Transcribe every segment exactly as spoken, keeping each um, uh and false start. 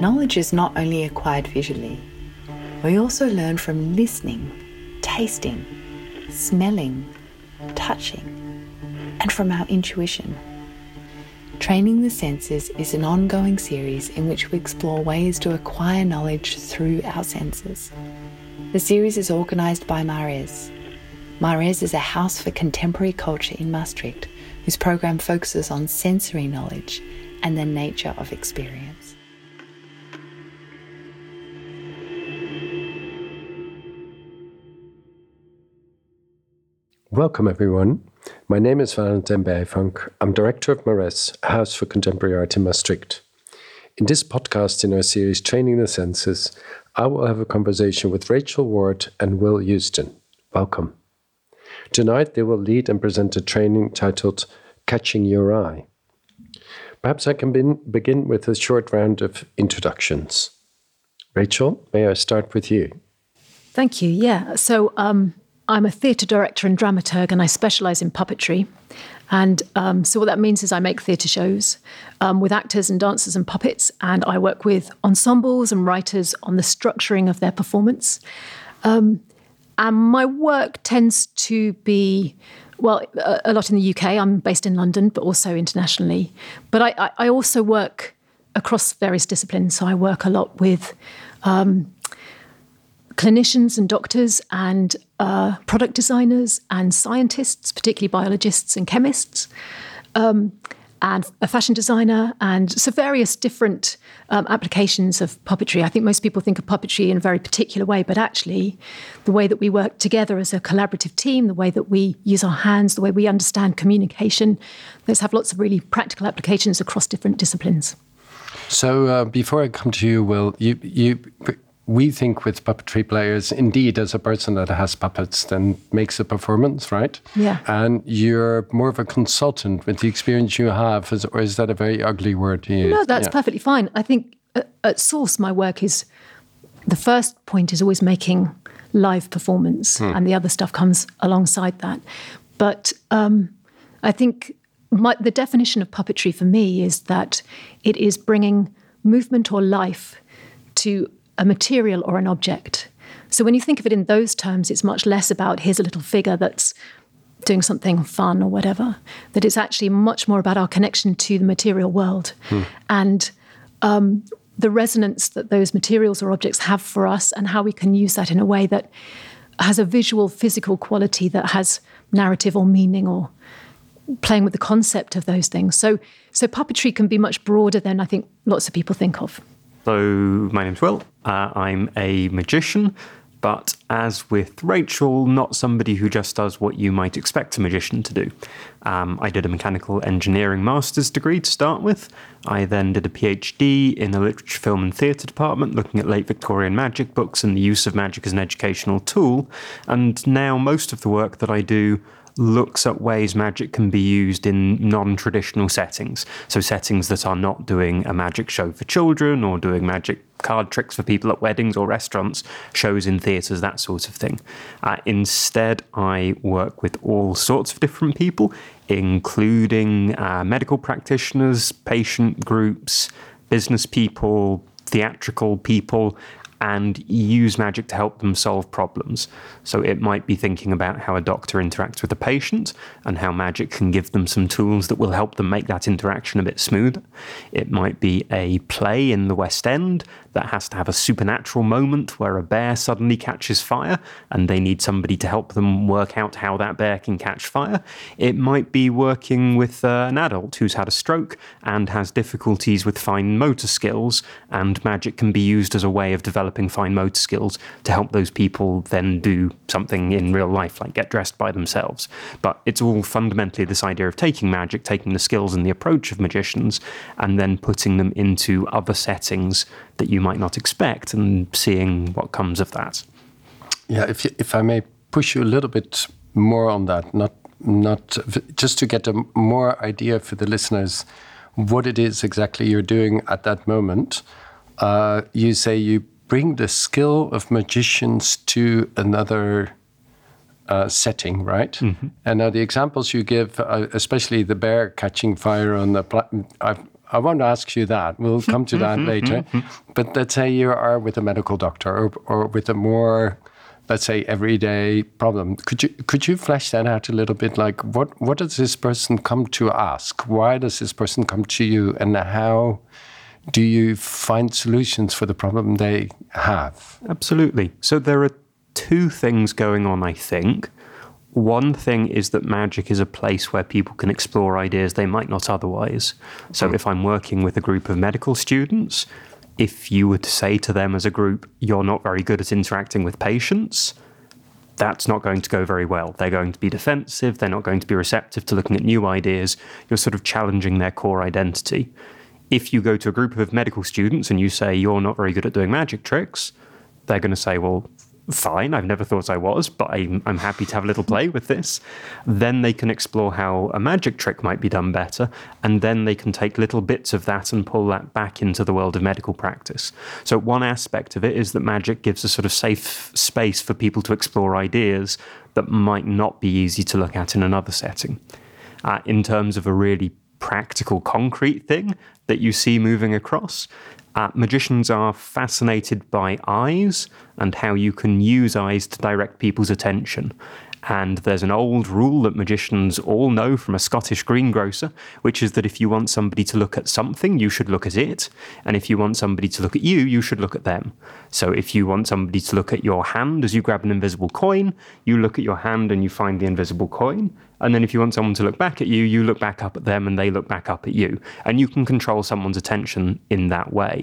knowledge is not only acquired visually, we also learn from listening, tasting, smelling, touching, and from our intuition. Training the Senses is an ongoing series in which we explore ways to acquire knowledge through our senses. The series is organised by Mares. Mares is a house for contemporary culture in Maastricht, whose program focuses on sensory knowledge and the nature of experience. Welcome, everyone. My name is Valentin Bijvank. I'm director of Mares, a house for contemporary art in Maastricht. In this podcast in our series Training the Senses, I will have a conversation with Rachel Ward and Will Houston. Welcome. Tonight they will lead and present a training titled Catching Your Eye. Perhaps I can be- begin with a short round of introductions. Rachel, may I start with you? Thank you. Yeah. So um, I'm a theatre director and dramaturg, and I specialise in puppetry. And um, so what that means is I make theatre shows um, with actors and dancers and puppets, and I work with ensembles and writers on the structuring of their performance. Um, and my work tends to be, well, a, a lot in the U K. I'm based in London, but also internationally. But I, I, I also work across various disciplines. So I work a lot with um, clinicians and doctors and uh, product designers and scientists, particularly biologists and chemists, um, and a fashion designer, and so various different um, applications of puppetry. I think most people think of puppetry in a very particular way, but actually the way that we work together as a collaborative team, the way that we use our hands, the way we understand communication, those have lots of really practical applications across different disciplines. So uh, before I come to you, Will, you, you, we think with puppetry players, indeed, as a person that has puppets, then makes a performance, right? Yeah. And you're more of a consultant with the experience you have, is, or is that a very ugly word to use? No, that's yeah. perfectly fine. I think at, at source, my work is, the first point is always making live performance, hmm. and the other stuff comes alongside that. But um, I think my, the definition of puppetry for me is that it is bringing movement or life to a material or an object. So when you think of it in those terms, it's much less about here's a little figure that's doing something fun or whatever, that it's actually much more about our connection to the material world hmm. and um, the resonance that those materials or objects have for us, and how we can use that in a way that has a visual, physical quality that has narrative or meaning, or playing with the concept of those things. So, so puppetry can be much broader than I think lots of people think of. So my name's Will. Uh, I'm a magician, but as with Rachel, not somebody who just does what you might expect a magician to do. Um, I did a mechanical engineering master's degree to start with. I then did a PhD in the literature, film and theatre department, looking at late Victorian magic books and the use of magic as an educational tool. And now most of the work that I do looks at ways magic can be used in non-traditional settings. So settings that are not doing a magic show for children or doing magic card tricks for people at weddings or restaurants, shows in theatres, that sort of thing. Uh, instead, I work with all sorts of different people, including uh, medical practitioners, patient groups, business people, theatrical people, and use magic to help them solve problems. So it might be thinking about how a doctor interacts with a patient and how magic can give them some tools that will help them make that interaction a bit smoother. It might be a play in the West End that has to have a supernatural moment where a bear suddenly catches fire and they need somebody to help them work out how that bear can catch fire. It might be working with uh, an adult who's had a stroke and has difficulties with fine motor skills, and magic can be used as a way of developing fine motor skills to help those people then do something in real life, like get dressed by themselves. But it's all fundamentally this idea of taking magic, taking the skills and the approach of magicians, and then putting them into other settings that you might not expect and seeing what comes of that. Yeah, if you, if I may push you a little bit more on that, not not just to get a more idea for the listeners what it is exactly you're doing at that moment. Uh, you say you bring the skill of magicians to another uh, setting, right? Mm-hmm. And now the examples you give, uh, especially the bear catching fire on the, pla- I've, I won't ask you that. We'll come to that later. But let's say you are with a medical doctor or, or with a more, let's say, everyday problem. Could you could you flesh that out a little bit? Like, what, what does this person come to ask? Why does this person come to you? And how do you find solutions for the problem they have? Absolutely. So there are two things going on, I think. One thing is that magic is a place where people can explore ideas they might not otherwise. So mm. if I'm working with a group of medical students, if you were to say to them as a group, you're not very good at interacting with patients, that's not going to go very well. They're going to be defensive. They're not going to be receptive to looking at new ideas. You're sort of challenging their core identity. If you go to a group of medical students and you say, you're not very good at doing magic tricks, they're going to say, well, fine, I've never thought I was, but I'm, I'm happy to have a little play with this. Then they can explore how a magic trick might be done better, and then they can take little bits of that and pull that back into the world of medical practice. So one aspect of it is that magic gives a sort of safe space for people to explore ideas that might not be easy to look at in another setting. Uh, in terms of a really practical, concrete thing that you see moving across, Uh, magicians are fascinated by eyes and how you can use eyes to direct people's attention. And there's an old rule that magicians all know from a Scottish greengrocer, which is that if you want somebody to look at something, you should look at it. And if you want somebody to look at you, you should look at them. So if you want somebody to look at your hand as you grab an invisible coin, you look at your hand and you find the invisible coin. And then if you want someone to look back at you, you look back up at them and they look back up at you. And you can control someone's attention in that way.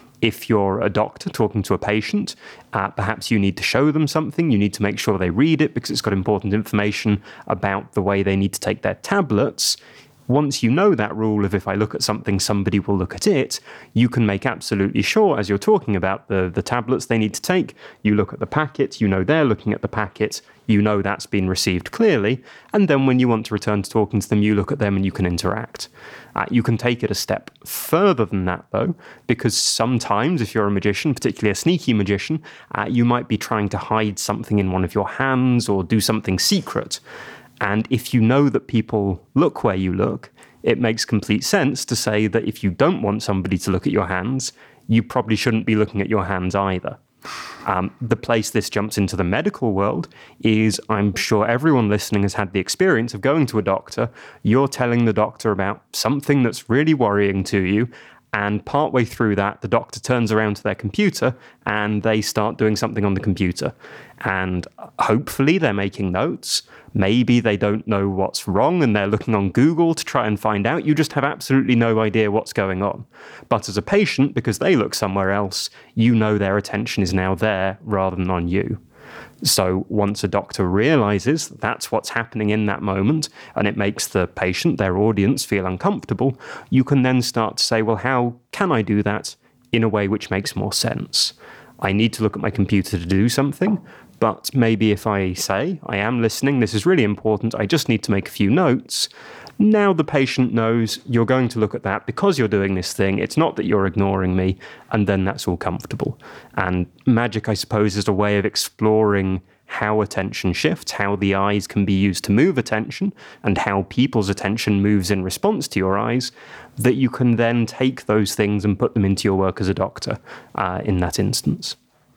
If you're a doctor talking to a patient, uh, perhaps you need to show them something. You need to make sure they read it because it's got important information about the way they need to take their tablets. Once you know that rule of if I look at something, somebody will look at it, you can make absolutely sure, as you're talking about the, the tablets they need to take, you look at the packet, you know they're looking at the packet, you know that's been received clearly, and then when you want to return to talking to them, you look at them and you can interact. Uh, you can take it a step further than that, though, because sometimes if you're a magician, particularly a sneaky magician, uh, you might be trying to hide something in one of your hands or do something secret. And if you know that people look where you look, it makes complete sense to say that if you don't want somebody to look at your hands, you probably shouldn't be looking at your hands either. Um, the place this jumps into the medical world is, I'm sure everyone listening has had the experience of going to a doctor, you're telling the doctor about something that's really worrying to you, and partway through that, the doctor turns around to their computer and they start doing something on the computer. And hopefully they're making notes. Maybe they don't know what's wrong and they're looking on Google to try and find out. You just have absolutely no idea what's going on. But as a patient, because they look somewhere else, you know their attention is now there rather than on you. So once a doctor realizes that's what's happening in that moment and it makes the patient, their audience, feel uncomfortable, you can then start to say, well, how can I do that in a way which makes more sense? I need to look at my computer to do something, but maybe if I say, I am listening, this is really important, I just need to make a few notes. Now the patient knows you're going to look at that because you're doing this thing. It's not that you're ignoring me, and then that's all comfortable. And magic, I suppose, is a way of exploring how attention shifts, how the eyes can be used to move attention, and how people's attention moves in response to your eyes, that you can then take those things and put them into your work as a doctor uh, in that instance.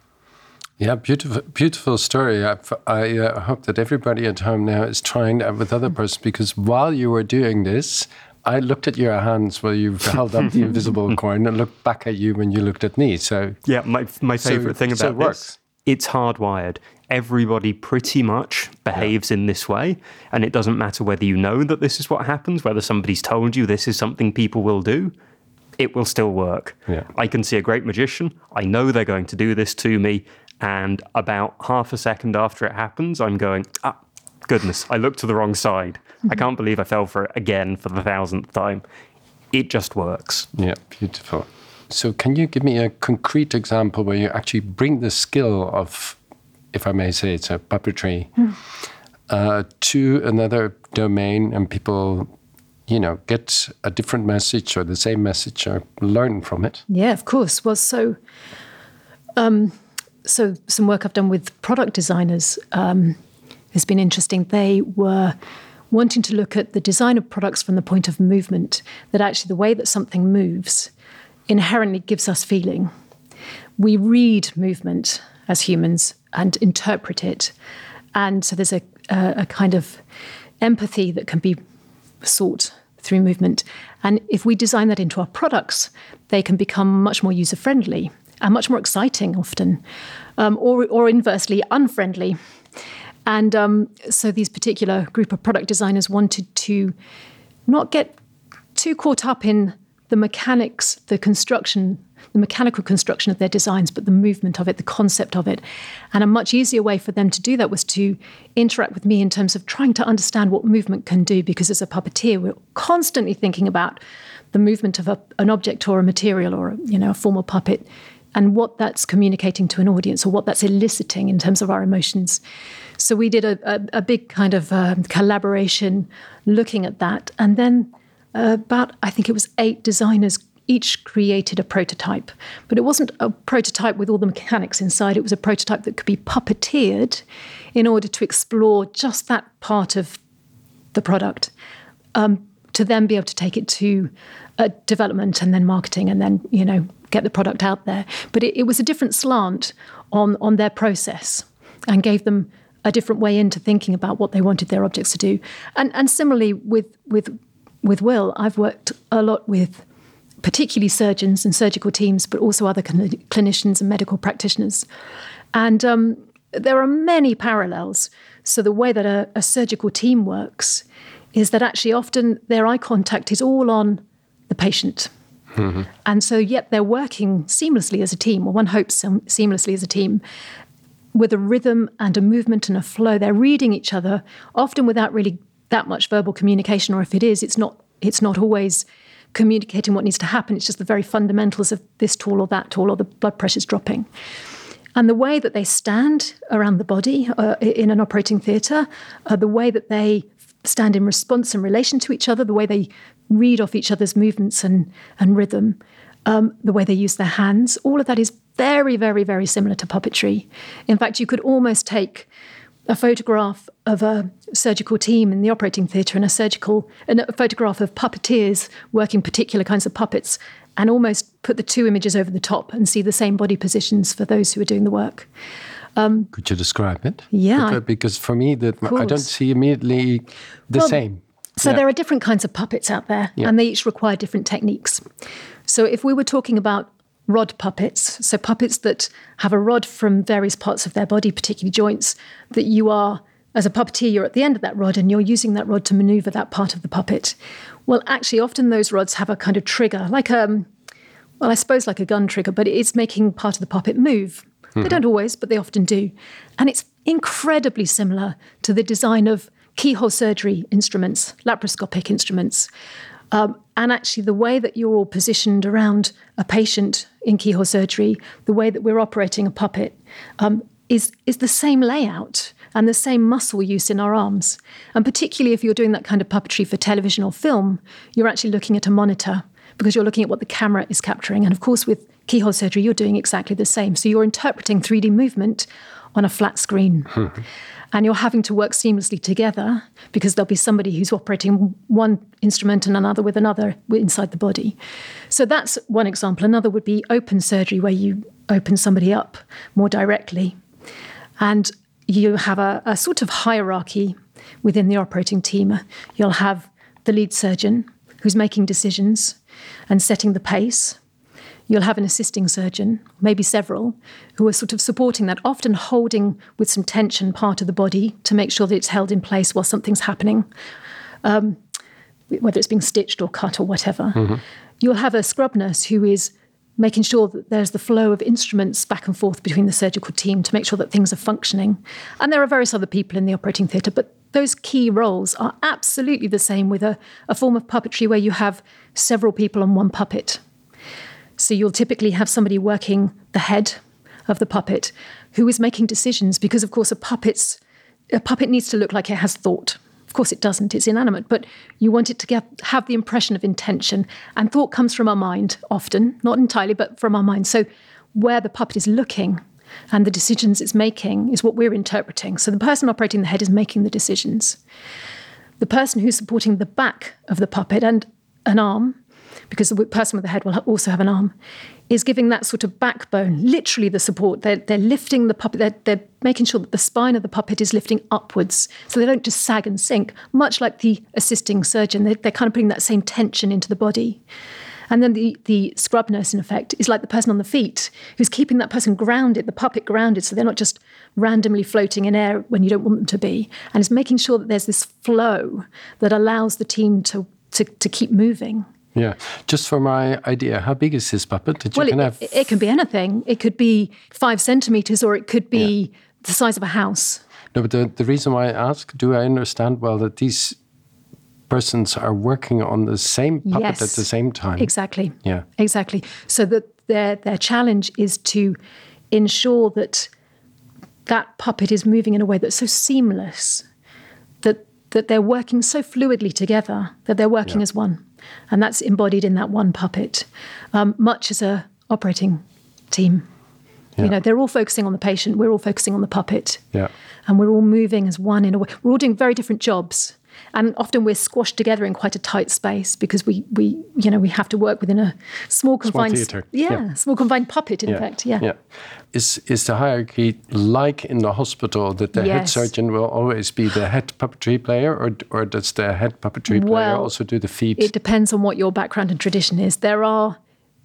Yeah, beautiful, beautiful story. I, I uh, hope that everybody at home now is trying that with other person, because while you were doing this, I looked at your hands while you held up the invisible coin and looked back at you when you looked at me. So yeah, my my favorite so, thing so about it this, works. It's hardwired. Everybody pretty much behaves yeah. in this way, and it doesn't matter whether you know that this is what happens, whether somebody's told you this is something people will do. It will still work. Yeah. I can see a great magician. I know they're going to do this to me. And about half a second after it happens, I'm going, ah, goodness, I looked to the wrong side. Mm-hmm. I can't believe I fell for it again for the thousandth time. It just works. Yeah, beautiful. So can you give me a concrete example where you actually bring the skill of, if I may say it's a puppetry, mm. uh, to another domain and people, you know, get a different message or the same message or learn from it? Yeah, of course. Well, so... Um, So some work I've done with product designers um, has been interesting. They were wanting to look at the design of products from the point of movement, that actually the way that something moves inherently gives us feeling. We read movement as humans and interpret it. And so there's a, a, a kind of empathy that can be sought through movement. And if we design that into our products, they can become much more user-friendly and much more exciting often, um, or, or inversely unfriendly. And um, so these particular group of product designers wanted to not get too caught up in the mechanics, the construction, the mechanical construction of their designs, but the movement of it, the concept of it. And a much easier way for them to do that was to interact with me in terms of trying to understand what movement can do, because as a puppeteer, we're constantly thinking about the movement of a, an object or a material or, you know, a formal puppet, and what that's communicating to an audience or what that's eliciting in terms of our emotions. So we did a, a, a big kind of um, collaboration looking at that. And then uh, about, I think it was eight designers each created a prototype. But it wasn't a prototype with all the mechanics inside. It was a prototype that could be puppeteered in order to explore just that part of the product, um, to then be able to take it to uh, development and then marketing and then, you know, get the product out there. But it, it was a different slant on, on their process and gave them a different way into thinking about what they wanted their objects to do. And and similarly with with with Will, I've worked a lot with particularly surgeons and surgical teams, but also other cl- clinicians and medical practitioners. And um, there are many parallels. So the way that a, a surgical team works is that actually often their eye contact is all on the patient. Mm-hmm. And so yet they're working seamlessly as a team, or one hopes seamlessly as a team, with a rhythm and a movement and a flow. They're reading each other, often without really that much verbal communication, or if it is, it's not it's not always communicating what needs to happen. It's just the very fundamentals of this tool or that tool, or the blood pressure's dropping. And the way that they stand around the body uh, in an operating theatre, uh, the way that they stand in response in relation to each other, the way they read off each other's movements and, and rhythm, um, the way they use their hands, all of that is very, very, very similar to puppetry. In fact, you could almost take a photograph of a surgical team in the operating theatre and a surgical, and a photograph of puppeteers working particular kinds of puppets, and almost put the two images over the top and see the same body positions for those who are doing the work. Um, Could you describe it? Yeah. Because, because for me, that I don't see immediately the well, same. So yeah. there are different kinds of puppets out there, yeah. and they each require different techniques. So if we were talking about rod puppets, so puppets that have a rod from various parts of their body, particularly joints, that you are, as a puppeteer, you're at the end of that rod and you're using that rod to maneuver that part of the puppet. Well, actually, often those rods have a kind of trigger, like a, well, I suppose like a gun trigger, but it's making part of the puppet move. Mm-hmm. They don't always, but they often do. And it's incredibly similar to the design of keyhole surgery instruments, laparoscopic instruments. Um, and actually the way that you're all positioned around a patient in keyhole surgery, the way that we're operating a puppet, um, is, is the same layout and the same muscle use in our arms. And particularly if you're doing that kind of puppetry for television or film, you're actually looking at a monitor because you're looking at what the camera is capturing. And of course, with keyhole surgery, you're doing exactly the same. So you're interpreting three D movement on a flat screen. Mm-hmm. And you're having to work seamlessly together because there'll be somebody who's operating one instrument and another with another inside the body. So that's one example. Another would be open surgery, where you open somebody up more directly. And you have a, a sort of hierarchy within the operating team. You'll have the lead surgeon who's making decisions and setting the pace. You'll have an assisting surgeon, maybe several, who are sort of supporting that, often holding with some tension part of the body to make sure that it's held in place while something's happening, um, whether it's being stitched or cut or whatever. Mm-hmm. You'll have a scrub nurse who is making sure that there's the flow of instruments back and forth between the surgical team to make sure that things are functioning. And there are various other people in the operating theatre, but those key roles are absolutely the same with a, a form of puppetry where you have several people on one puppet. So you'll typically have somebody working the head of the puppet who is making decisions because, of course, a puppet's, a puppet needs to look like it has thought. Of course, it doesn't. It's inanimate. But you want it to get, have the impression of intention. And thought comes from our mind often, not entirely, but from our mind. So where the puppet is looking and the decisions it's making is what we're interpreting. So the person operating the head is making the decisions. the person who's supporting the back of the puppet and an arm, because the person with the head will also have an arm, is giving that sort of backbone, literally the support. They're, they're lifting the puppet, they're, they're making sure that the spine of the puppet is lifting upwards so they don't just sag and sink, much like the assisting surgeon. They're, they're kind of putting that same tension into the body. And then the, the scrub nurse, in effect, is like the person on the feet who's keeping that person grounded, the puppet grounded, so they're not just randomly floating in air when you don't want them to be. And it's making sure that there's this flow that allows the team to, to, to keep moving. Yeah. Just for my idea, how big is this puppet that you well, can it, have? It, it can be anything. It could be five centimetres or it could be yeah. the size of a house. No, but the, the reason why I ask, do I understand well that these persons are working on the same puppet yes, at the same time? Exactly. Yeah. Exactly. So that their their challenge is to ensure that that puppet is moving in a way that's so seamless, that that they're working so fluidly together, that they're working yeah. as one. And that's embodied in that one puppet, um, much as a operating team. Yeah. You know, they're all focusing on the patient, we're all focusing on the puppet. Yeah. And we're all moving as one in a way. We're all doing very different jobs. And often we're squashed together in quite a tight space because we, we you know, we have to work within a small confined... Small theatre. Yeah, yeah, small confined puppet, in yeah. fact, yeah. yeah. Is is the hierarchy like in the hospital, that the yes. head surgeon will always be the head puppetry player, or or does the head puppetry player well, also do the feet? It depends on what your background and tradition is. There are...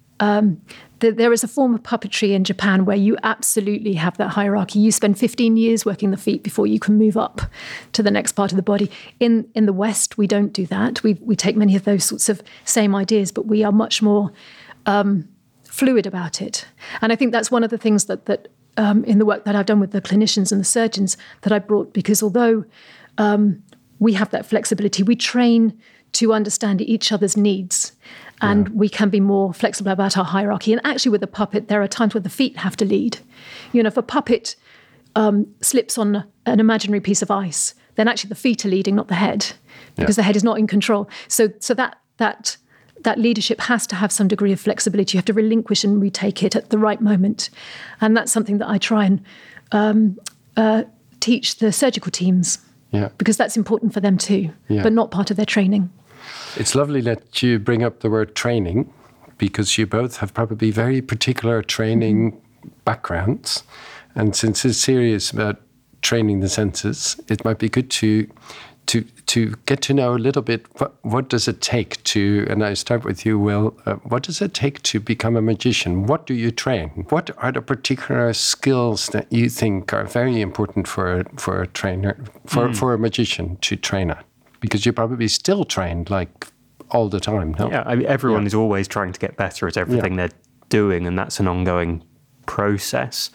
Um, th- there is a form of puppetry in Japan where you absolutely have that hierarchy. You spend fifteen years working the feet before you can move up to the next part of the body. In in the West, we don't do that. We we take many of those sorts of same ideas, but we are much more um, fluid about it. And I think that's one of the things that that um, in the work that I've done with the clinicians and the surgeons that I brought, because although um, we have that flexibility, we train to understand each other's needs. And yeah. we can be more flexible about our hierarchy. And actually with the puppet, there are times where the feet have to lead. You know, if a puppet um, slips on an imaginary piece of ice, then actually the feet are leading, not the head, because yeah. the head is not in control. So so that that that leadership has to have some degree of flexibility. You have to relinquish and retake it at the right moment. And that's something that I try and um, uh, teach the surgical teams, yeah. because that's important for them too, yeah. but not part of their training. It's lovely that you bring up the word training, because you both have probably very particular training mm-hmm. backgrounds. And since this series is about training the senses, it might be good to to to get to know a little bit what, what does it take to, and I start with you, Will, uh, what does it take to become a magician? What do you train? What are the particular skills that you think are very important for, for a trainer, for, mm. for a magician to train at? Because you're probably still trained like all the time, no? Yeah, I mean, everyone yeah. is always trying to get better at everything yeah. they're doing, and that's an ongoing process.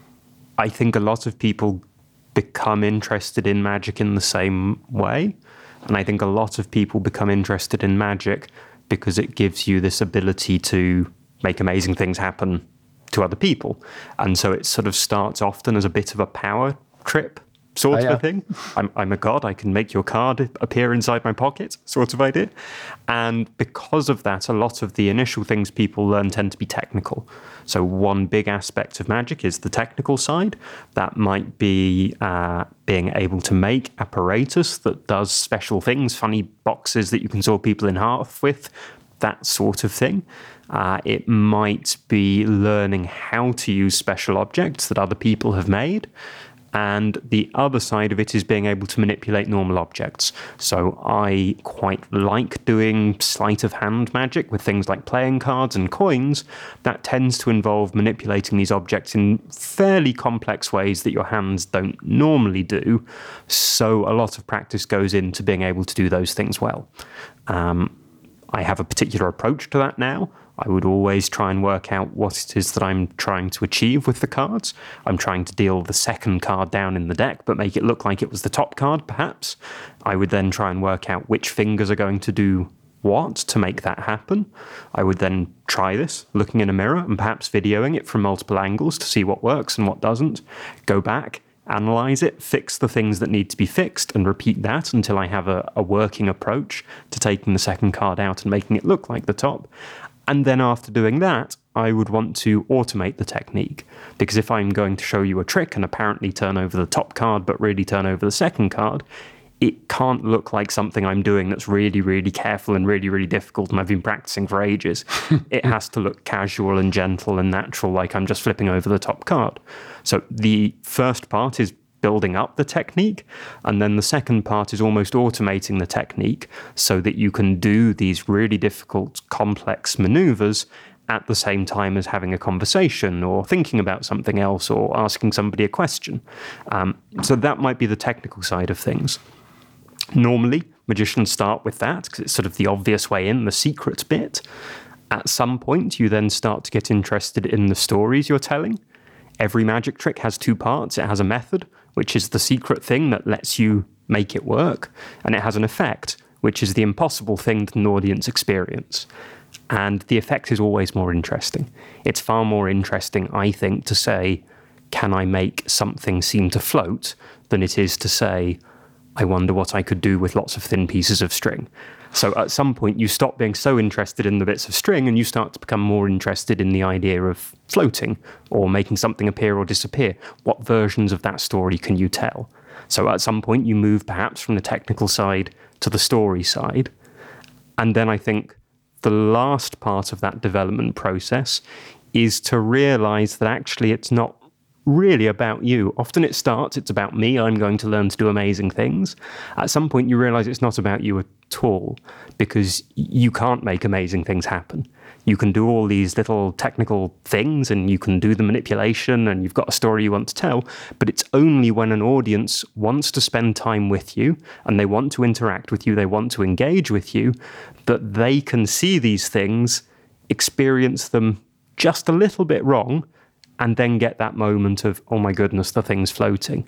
I think a lot of people become interested in magic in the same way, and I think a lot of people become interested in magic because it gives you this ability to make amazing things happen to other people. And so it sort of starts often as a bit of a power trip sort oh, yeah. of a thing. I'm, I'm a god, I can make your card appear inside my pocket, sort of idea. And because of that, a lot of the initial things people learn tend to be technical. So one big aspect of magic is the technical side. That might be uh, being able to make apparatus that does special things, funny boxes that you can saw people in half with, that sort of thing. Uh, it might be learning how to use special objects that other people have made. And the other side of it is being able to manipulate normal objects. So I quite like doing sleight of hand magic with things like playing cards and coins. That tends to involve manipulating these objects in fairly complex ways that your hands don't normally do. So a lot of practice goes into being able to do those things well. Um, I have a particular approach to that now. I would always try and work out what it is that I'm trying to achieve with the cards. I'm trying to deal the second card down in the deck, but make it look like it was the top card, perhaps. I would then try and work out which fingers are going to do what to make that happen. I would then try this, looking in a mirror and perhaps videoing it from multiple angles to see what works and what doesn't. Go back, analyze it, fix the things that need to be fixed, and repeat that until I have a, a working approach to taking the second card out and making it look like the top. And then after doing that, I would want to automate the technique. Because if I'm going to show you a trick and apparently turn over the top card, but really turn over the second card, it can't look like something I'm doing that's really, really careful and really, really difficult and I've been practicing for ages. It has to look casual and gentle and natural, like I'm just flipping over the top card. So the first part is building up the technique, and then the second part is almost automating the technique so that you can do these really difficult, complex maneuvers at the same time as having a conversation or thinking about something else or asking somebody a question. Um, so that might be the technical side of things. Normally, magicians start with that because it's sort of the obvious way in, the secret bit. At some point, you then start to get interested in the stories you're telling. Every magic trick has two parts. It has a method, which is the secret thing that lets you make it work, and it has an effect, which is the impossible thing that an audience experience. And the effect is always more interesting. It's far more interesting, I think, to say, can I make something seem to float, than it is to say, I wonder what I could do with lots of thin pieces of string. So at some point, you stop being so interested in the bits of string and you start to become more interested in the idea of floating or making something appear or disappear. What versions of that story can you tell? So at some point, you move perhaps from the technical side to the story side. And then I think the last part of that development process is to realize that actually it's not really about you. Often it starts, it's about me, I'm going to learn to do amazing things. At some point you realize it's not about you at all, because you can't make amazing things happen. You can do all these little technical things and you can do the manipulation and you've got a story you want to tell, but it's only when an audience wants to spend time with you and they want to interact with you, they want to engage with you, that they can see these things, experience them just a little bit wrong, and then get that moment of, oh my goodness, the thing's floating.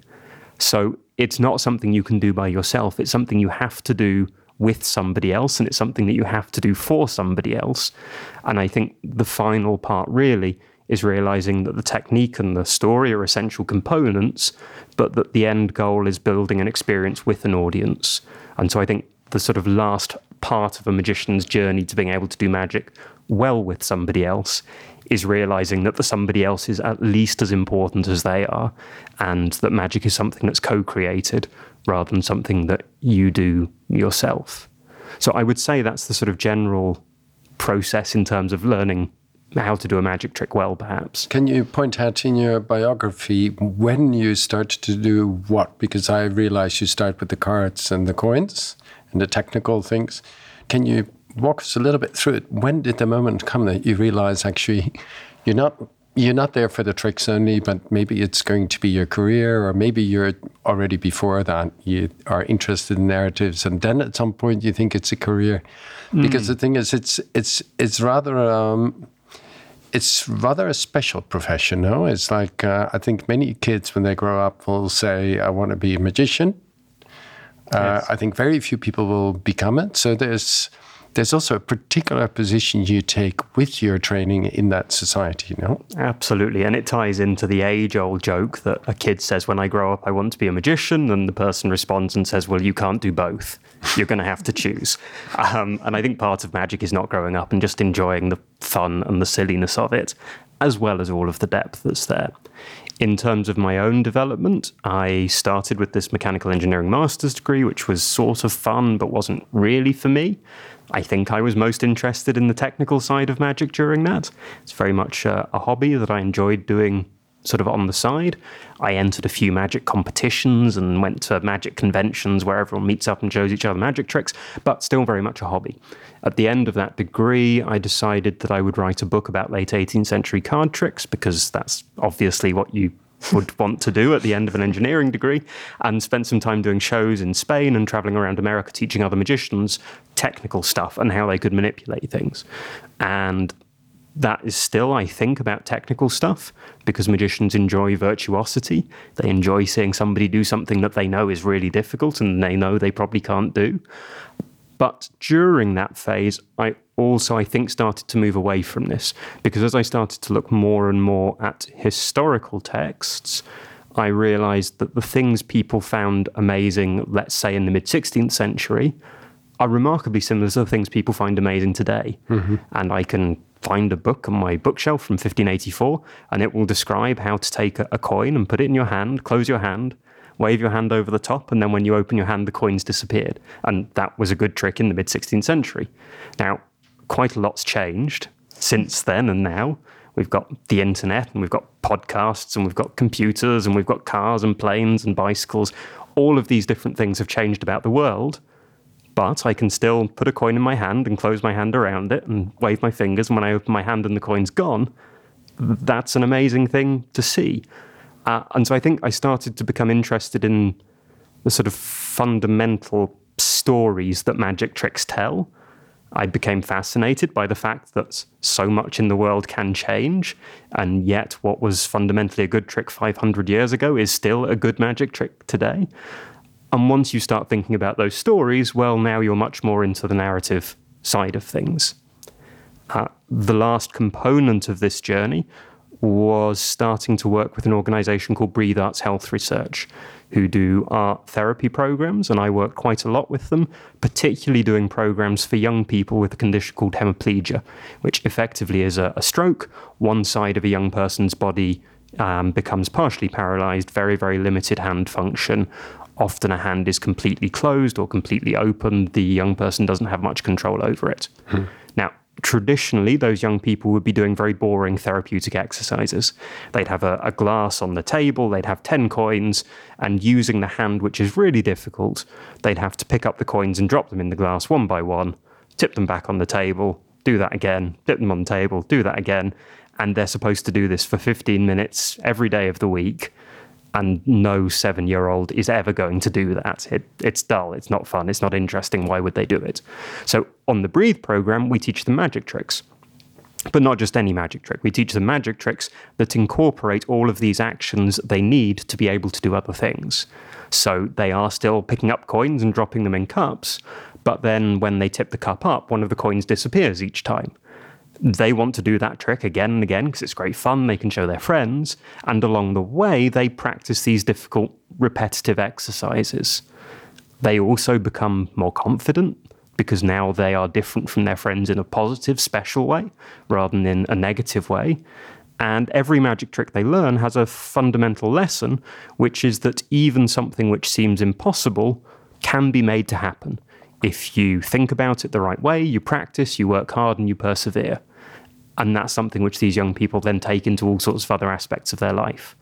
So it's not something you can do by yourself. It's something you have to do with somebody else, and it's something that you have to do for somebody else. And I think the final part really is realizing that the technique and the story are essential components, but that the end goal is building an experience with an audience. And so I think the sort of last part of a magician's journey to being able to do magic well with somebody else is realizing that the somebody else is at least as important as they are, and that magic is something that's co-created rather than something that you do yourself. So I would say that's the sort of general process in terms of learning how to do a magic trick well, perhaps. Can you point out in your biography when you started to do what? Because I realize you start with the cards and the coins and the technical things. Can you walk us a little bit through it? When did the moment come that you realize actually you're not you're not there for the tricks only, but maybe it's going to be your career, or maybe you're already before that you are interested in narratives, and then at some point you think it's a career? Mm. Because the thing is, it's it's it's rather um, it's rather a special profession, no? It's like uh, I think many kids when they grow up will say, "I want to be a magician." Uh, yes. I think very few people will become it. So there's There's also a particular position you take with your training in that society, you know? Absolutely. And it ties into the age-old joke that a kid says, when I grow up, I want to be a magician. And the person responds and says, well, you can't do both. You're going to have to choose. Um, and I think part of magic is not growing up and just enjoying the fun and the silliness of it, as well as all of the depth that's there. In terms of my own development, I started with this mechanical engineering master's degree, which was sort of fun, but wasn't really for me. I think I was most interested in the technical side of magic during that. It's very much a, a hobby that I enjoyed doing sort of on the side. I entered a few magic competitions and went to magic conventions where everyone meets up and shows each other magic tricks, but still very much a hobby. At the end of that degree, I decided that I would write a book about late eighteenth century card tricks, because that's obviously what you would want to do at the end of an engineering degree, and spent some time doing shows in Spain and traveling around America teaching other magicians technical stuff and how they could manipulate things. And that is still, I think, about technical stuff, because magicians enjoy virtuosity. They enjoy seeing somebody do something that they know is really difficult and they know they probably can't do. But during that phase, I also, I think, started to move away from this, because as I started to look more and more at historical texts, I realized that the things people found amazing, let's say in the mid-sixteenth century, are remarkably similar to the things people find amazing today. Mm-hmm. And I can find a book on my bookshelf from fifteen eighty-four, and it will describe how to take a, a coin and put it in your hand, close your hand, wave your hand over the top, and then when you open your hand, the coins disappeared. And that was a good trick in the mid-sixteenth century. Now, quite a lot's changed since then and now. We've got the internet, and we've got podcasts, and we've got computers, and we've got cars and planes and bicycles. All of these different things have changed about the world, but I can still put a coin in my hand and close my hand around it and wave my fingers, and when I open my hand and the coin's gone, that's an amazing thing to see. Uh, and so I think I started to become interested in the sort of fundamental stories that magic tricks tell. I became fascinated by the fact that so much in the world can change, and yet what was fundamentally a good trick five hundred years ago is still a good magic trick today. And once you start thinking about those stories, well, now you're much more into the narrative side of things. Uh, the last component of this journey was starting to work with an organization called Breathe Arts Health Research, who do art therapy programs, and I work quite a lot with them, particularly doing programs for young people with a condition called hemiplegia, which effectively is a, a stroke. One side of a young person's body um, becomes partially paralyzed, very, very limited hand function. Often a hand is completely closed or completely open. The young person doesn't have much control over it. Hmm. Now, traditionally, those young people would be doing very boring therapeutic exercises. They'd have a, a glass on the table, they'd have ten coins, and using the hand, which is really difficult, they'd have to pick up the coins and drop them in the glass one by one, tip them back on the table, do that again, tip them on the table, do that again, and they're supposed to do this for fifteen minutes every day of the week. And no seven-year-old is ever going to do that. It, it's dull, it's not fun, it's not interesting. Why would they do it? So on the Breathe program, we teach them magic tricks. But not just any magic trick. We teach them magic tricks that incorporate all of these actions they need to be able to do other things. So they are still picking up coins and dropping them in cups, but then when they tip the cup up, one of the coins disappears each time. They want to do that trick again and again because it's great fun, they can show their friends, and along the way they practice these difficult repetitive exercises. They also become more confident because now they are different from their friends in a positive, special way rather than in a negative way. And every magic trick they learn has a fundamental lesson, which is that even something which seems impossible can be made to happen. If you think about it the right way, you practice, you work hard, and you persevere. And that's something which these young people then take into all sorts of other aspects of their life.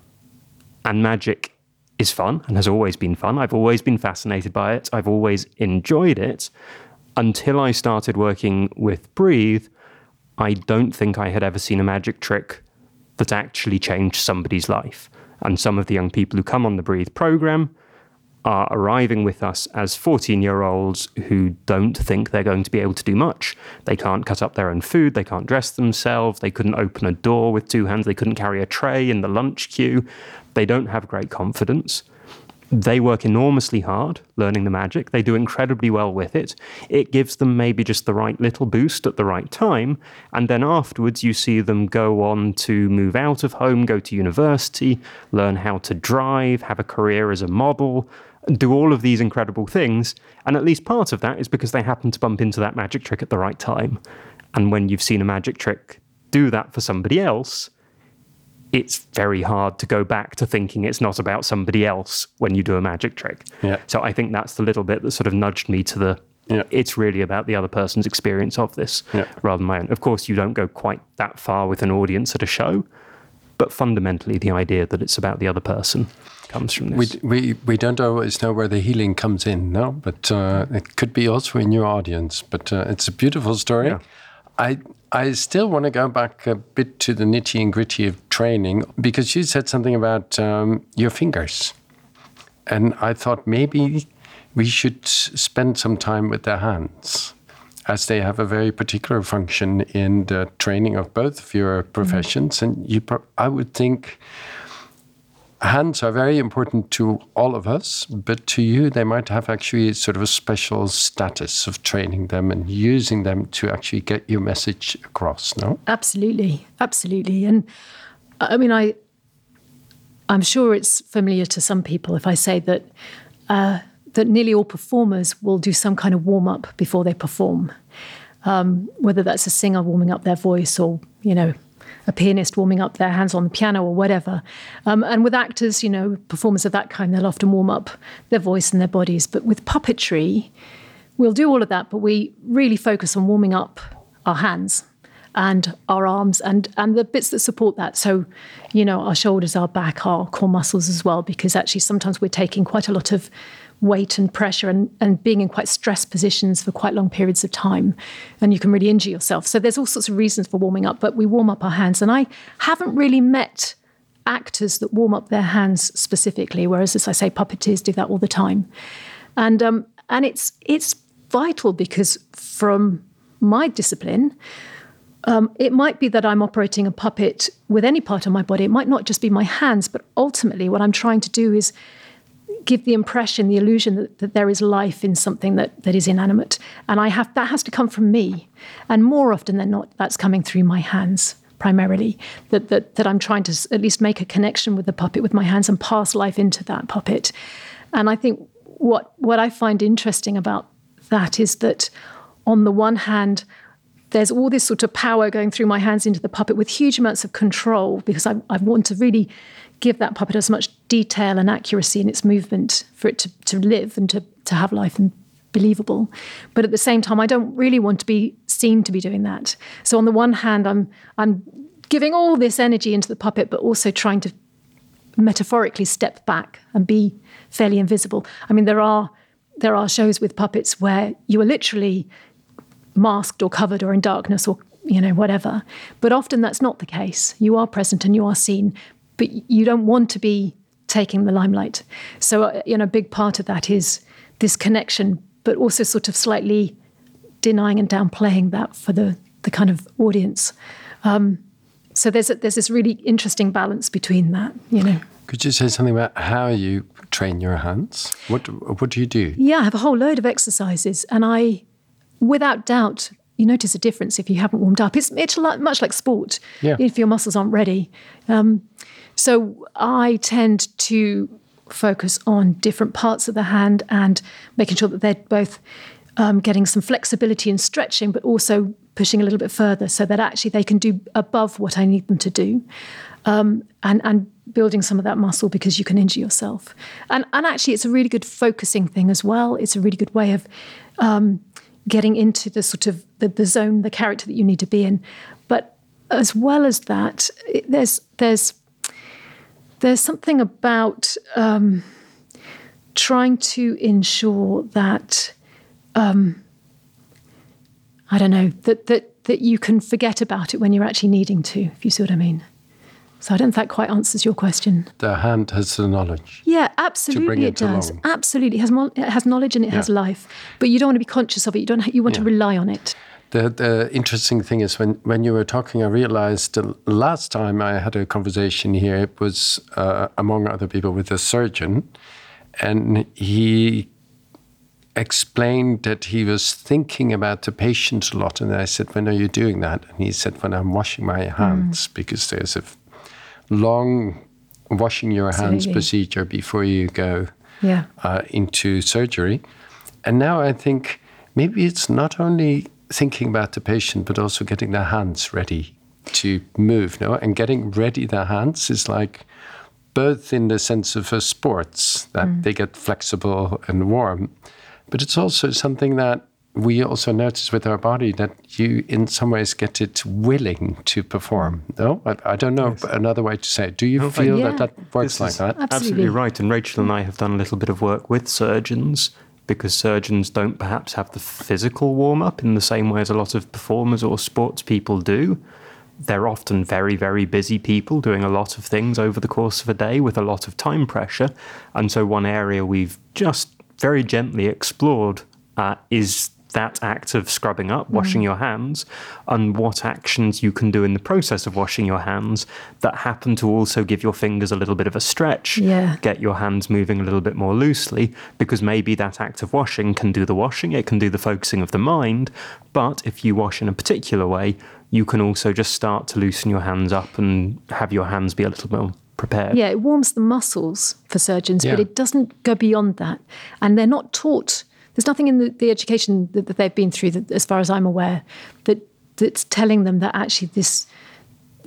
And magic is fun and has always been fun. I've always been fascinated by it. I've always enjoyed it. Until I started working with Breathe, I don't think I had ever seen a magic trick that actually changed somebody's life. And some of the young people who come on the Breathe program are arriving with us as fourteen-year-olds who don't think they're going to be able to do much. They can't cut up their own food, they can't dress themselves, they couldn't open a door with two hands, they couldn't carry a tray in the lunch queue. They don't have great confidence. They work enormously hard learning the magic. They do incredibly well with it. It gives them maybe just the right little boost at the right time. And then afterwards, you see them go on to move out of home, go to university, learn how to drive, have a career as a model, do all of these incredible things. And at least part of that is because they happen to bump into that magic trick at the right time. And when you've seen a magic trick do that for somebody else, it's very hard to go back to thinking it's not about somebody else when you do a magic trick. Yeah. So I think that's the little bit that sort of nudged me to the, yeah. It's really about the other person's experience of this yeah. rather than my own. Of course, you don't go quite that far with an audience at a show, but fundamentally the idea that it's about the other person comes from this. We we, we don't always know where the healing comes in, no? But uh, it could be also in your audience. But uh, it's a beautiful story. Yeah. I I still want to go back a bit to the nitty and gritty of training, because you said something about um, your fingers. And I thought maybe we should spend some time with their hands, as they have a very particular function in the training of both of your professions. Mm-hmm. And you, I would think hands are very important to all of us, but to you, they might have actually sort of a special status of training them and using them to actually get your message across, no? Absolutely, absolutely. And I mean, I, I'm sure it's familiar to some people if I say that uh, that nearly all performers will do some kind of warm-up before they perform, um, whether that's a singer warming up their voice or, you know, a pianist warming up their hands on the piano or whatever. Um, and with actors, you know, performers of that kind, they'll often warm up their voice and their bodies. But with puppetry, we'll do all of that, but we really focus on warming up our hands and our arms and, and the bits that support that. So, you know, our shoulders, our back, our core muscles as well, because actually sometimes we're taking quite a lot of weight and pressure and, and being in quite stressed positions for quite long periods of time. And you can really injure yourself. So there's all sorts of reasons for warming up, but we warm up our hands. And I haven't really met actors that warm up their hands specifically, whereas, as I say, puppeteers do that all the time. And um, and it's it's vital because from my discipline, Um, it might be that I'm operating a puppet with any part of my body. It might not just be my hands, but ultimately what I'm trying to do is give the impression, the illusion that, that there is life in something that, that is inanimate. And I have that has to come from me. And more often than not, that's coming through my hands primarily, that, that, that I'm trying to at least make a connection with the puppet with my hands and pass life into that puppet. And I think what what I find interesting about that is that on the one hand, there's all this sort of power going through my hands into the puppet with huge amounts of control because I, I want to really give that puppet as much detail and accuracy in its movement for it to, to live and to, to have life and believable. But at the same time, I don't really want to be seen to be doing that. So on the one hand, I'm I'm giving all this energy into the puppet, but also trying to metaphorically step back and be fairly invisible. I mean, there are there are shows with puppets where you are literally masked or covered or in darkness or, you know, whatever. But often that's not the case. You are present and you are seen, but you don't want to be taking the limelight. So, uh, you know, a big part of that is this connection, but also sort of slightly denying and downplaying that for the, the kind of audience. Um, so there's a, there's this really interesting balance between that, you know. Could you say something about how you train your hands? What what do you do? Yeah, I have a whole load of exercises, and I, without doubt, you notice a difference if you haven't warmed up. It's it's much like sport, yeah. If your muscles aren't ready. Um, so I tend to focus on different parts of the hand and making sure that they're both um, getting some flexibility and stretching, but also pushing a little bit further so that actually they can do above what I need them to do. Um, and, and building some of that muscle because you can injure yourself. And, and actually it's a really good focusing thing as well. It's a really good way of um, getting into the sort of the, the zone, the character that you need to be in. But as well as that, it, there's there's there's something about um, trying to ensure that um, I don't know that that that you can forget about it when you're actually needing to, if you see what I mean. So I don't think that quite answers your question. The hand has the knowledge. Yeah, absolutely, to bring it, it does. along. Absolutely, it has mo- it has knowledge and it Yeah. has life, but you don't want to be conscious of it. You don't. Ha- you want Yeah. to rely on it. The the interesting thing is when, when you were talking, I realized the last time I had a conversation here, it was uh, among other people with a surgeon, and he explained that he was thinking about the patient a lot. And I said, when are you doing that? And he said, when I'm washing my hands, mm. because there's a long washing your hands Absolutely. procedure before you go Yeah. uh, into surgery. And now I think maybe it's not only thinking about the patient, but also getting their hands ready to move. No, and getting ready their hands is like both in the sense of uh, sports, that mm. they get flexible and warm, but it's also something that we also notice with our body, that you in some ways get it willing to perform. No, I, I don't know yes. another way to say it. Do you No, feel yeah. that that works This like is that? Absolutely. Absolutely right. And Rachel and I have done a little bit of work with surgeons, because surgeons don't perhaps have the physical warm-up in the same way as a lot of performers or sports people do. They're often very, very busy people doing a lot of things over the course of a day with a lot of time pressure. And so one area we've just very gently explored uh, is that act of scrubbing up, washing mm. your hands, and what actions you can do in the process of washing your hands that happen to also give your fingers a little bit of a stretch, Yeah. get your hands moving a little bit more loosely, because maybe that act of washing can do the washing, it can do the focusing of the mind, but if you wash in a particular way, you can also just start to loosen your hands up and have your hands be a little more prepared. Yeah, it warms the muscles for surgeons, Yeah. but it doesn't go beyond that. And they're not taught. There's nothing in the, the education that, that they've been through, that, as far as I'm aware, that that's telling them that actually this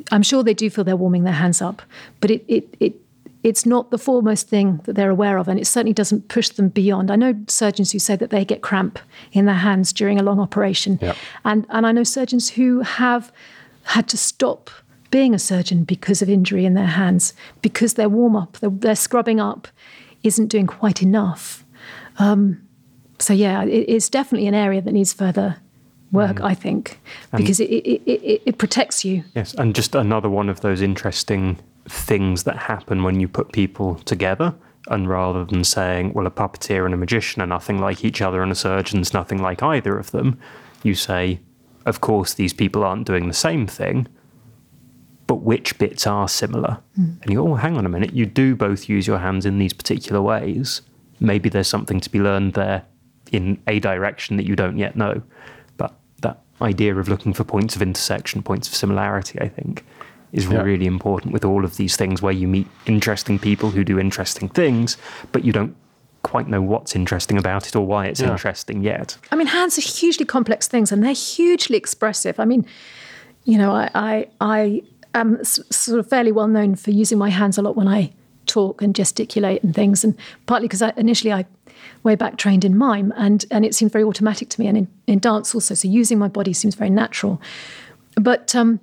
I'm sure they do feel they're warming their hands up, but it it it it's not the foremost thing that they're aware of, and it certainly doesn't push them beyond. I know surgeons who say that they get cramp in their hands during a long operation, yeah. and and I know surgeons who have had to stop being a surgeon because of injury in their hands, because their warm up, their, their scrubbing up, isn't doing quite enough. Um, so yeah, it, it's definitely an area that needs further work, mm. I think, because it, it, it, it protects you. Yes, and just another one of those interesting things that happen when you put people together, and rather than saying, well, a puppeteer and a magician are nothing like each other and a surgeon's nothing like either of them, you say, of course, these people aren't doing the same thing, but which bits are similar? Mm. And you go, oh, hang on a minute, you do both use your hands in these particular ways. Maybe there's something to be learned there in a direction that you don't yet know. But that idea of looking for points of intersection, points of similarity, I think, is yeah. really important with all of these things where you meet interesting people who do interesting things, but you don't quite know what's interesting about it or why it's yeah. interesting yet. I mean, hands are hugely complex things, and they're hugely expressive. I mean, you know, I I, I am s- sort of fairly well known for using my hands a lot when I talk and gesticulate and things, and partly because I, initially I way back trained in mime, and, and it seemed very automatic to me, and in, in dance also, so using my body seems very natural. But um,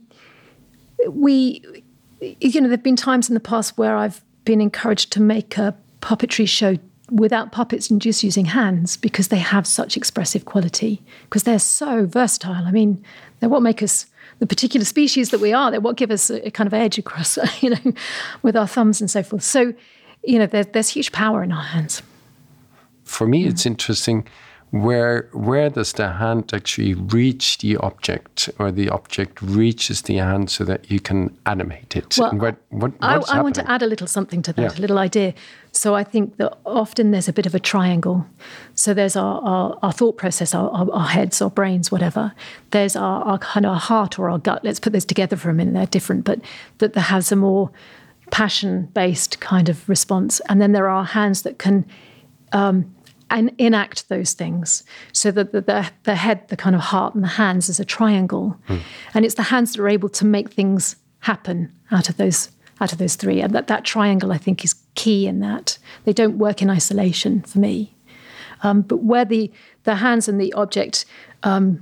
we, you know, there have been times in the past where I've been encouraged to make a puppetry show without puppets and just using hands, because they have such expressive quality, because they're so versatile. I mean, they're what make us the particular species that we are. They're what give us a, a kind of edge across, you know, with our thumbs and so forth. So, you know, there, there's huge power in our hands. For me, mm. it's interesting, where where does the hand actually reach the object, or the object reaches the hand so that you can animate it? Well, and what, what, I, I want to add a little something to that, yeah. a little idea. So I think that often there's a bit of a triangle. So there's our, our, our thought process, our, our, our heads, our brains, whatever. There's our, our kind of our heart or our gut. Let's put those together for a minute. They're different, but that there has a more passion-based kind of response. And then there are hands that can um, and enact those things. So that the, the, the head, the kind of heart, and the hands is a triangle. Mm. And it's the hands that are able to make things happen out of those out of those three. And that, that triangle, I think, is key in that. They don't work in isolation for me. Um, but where the, the hands and the object um,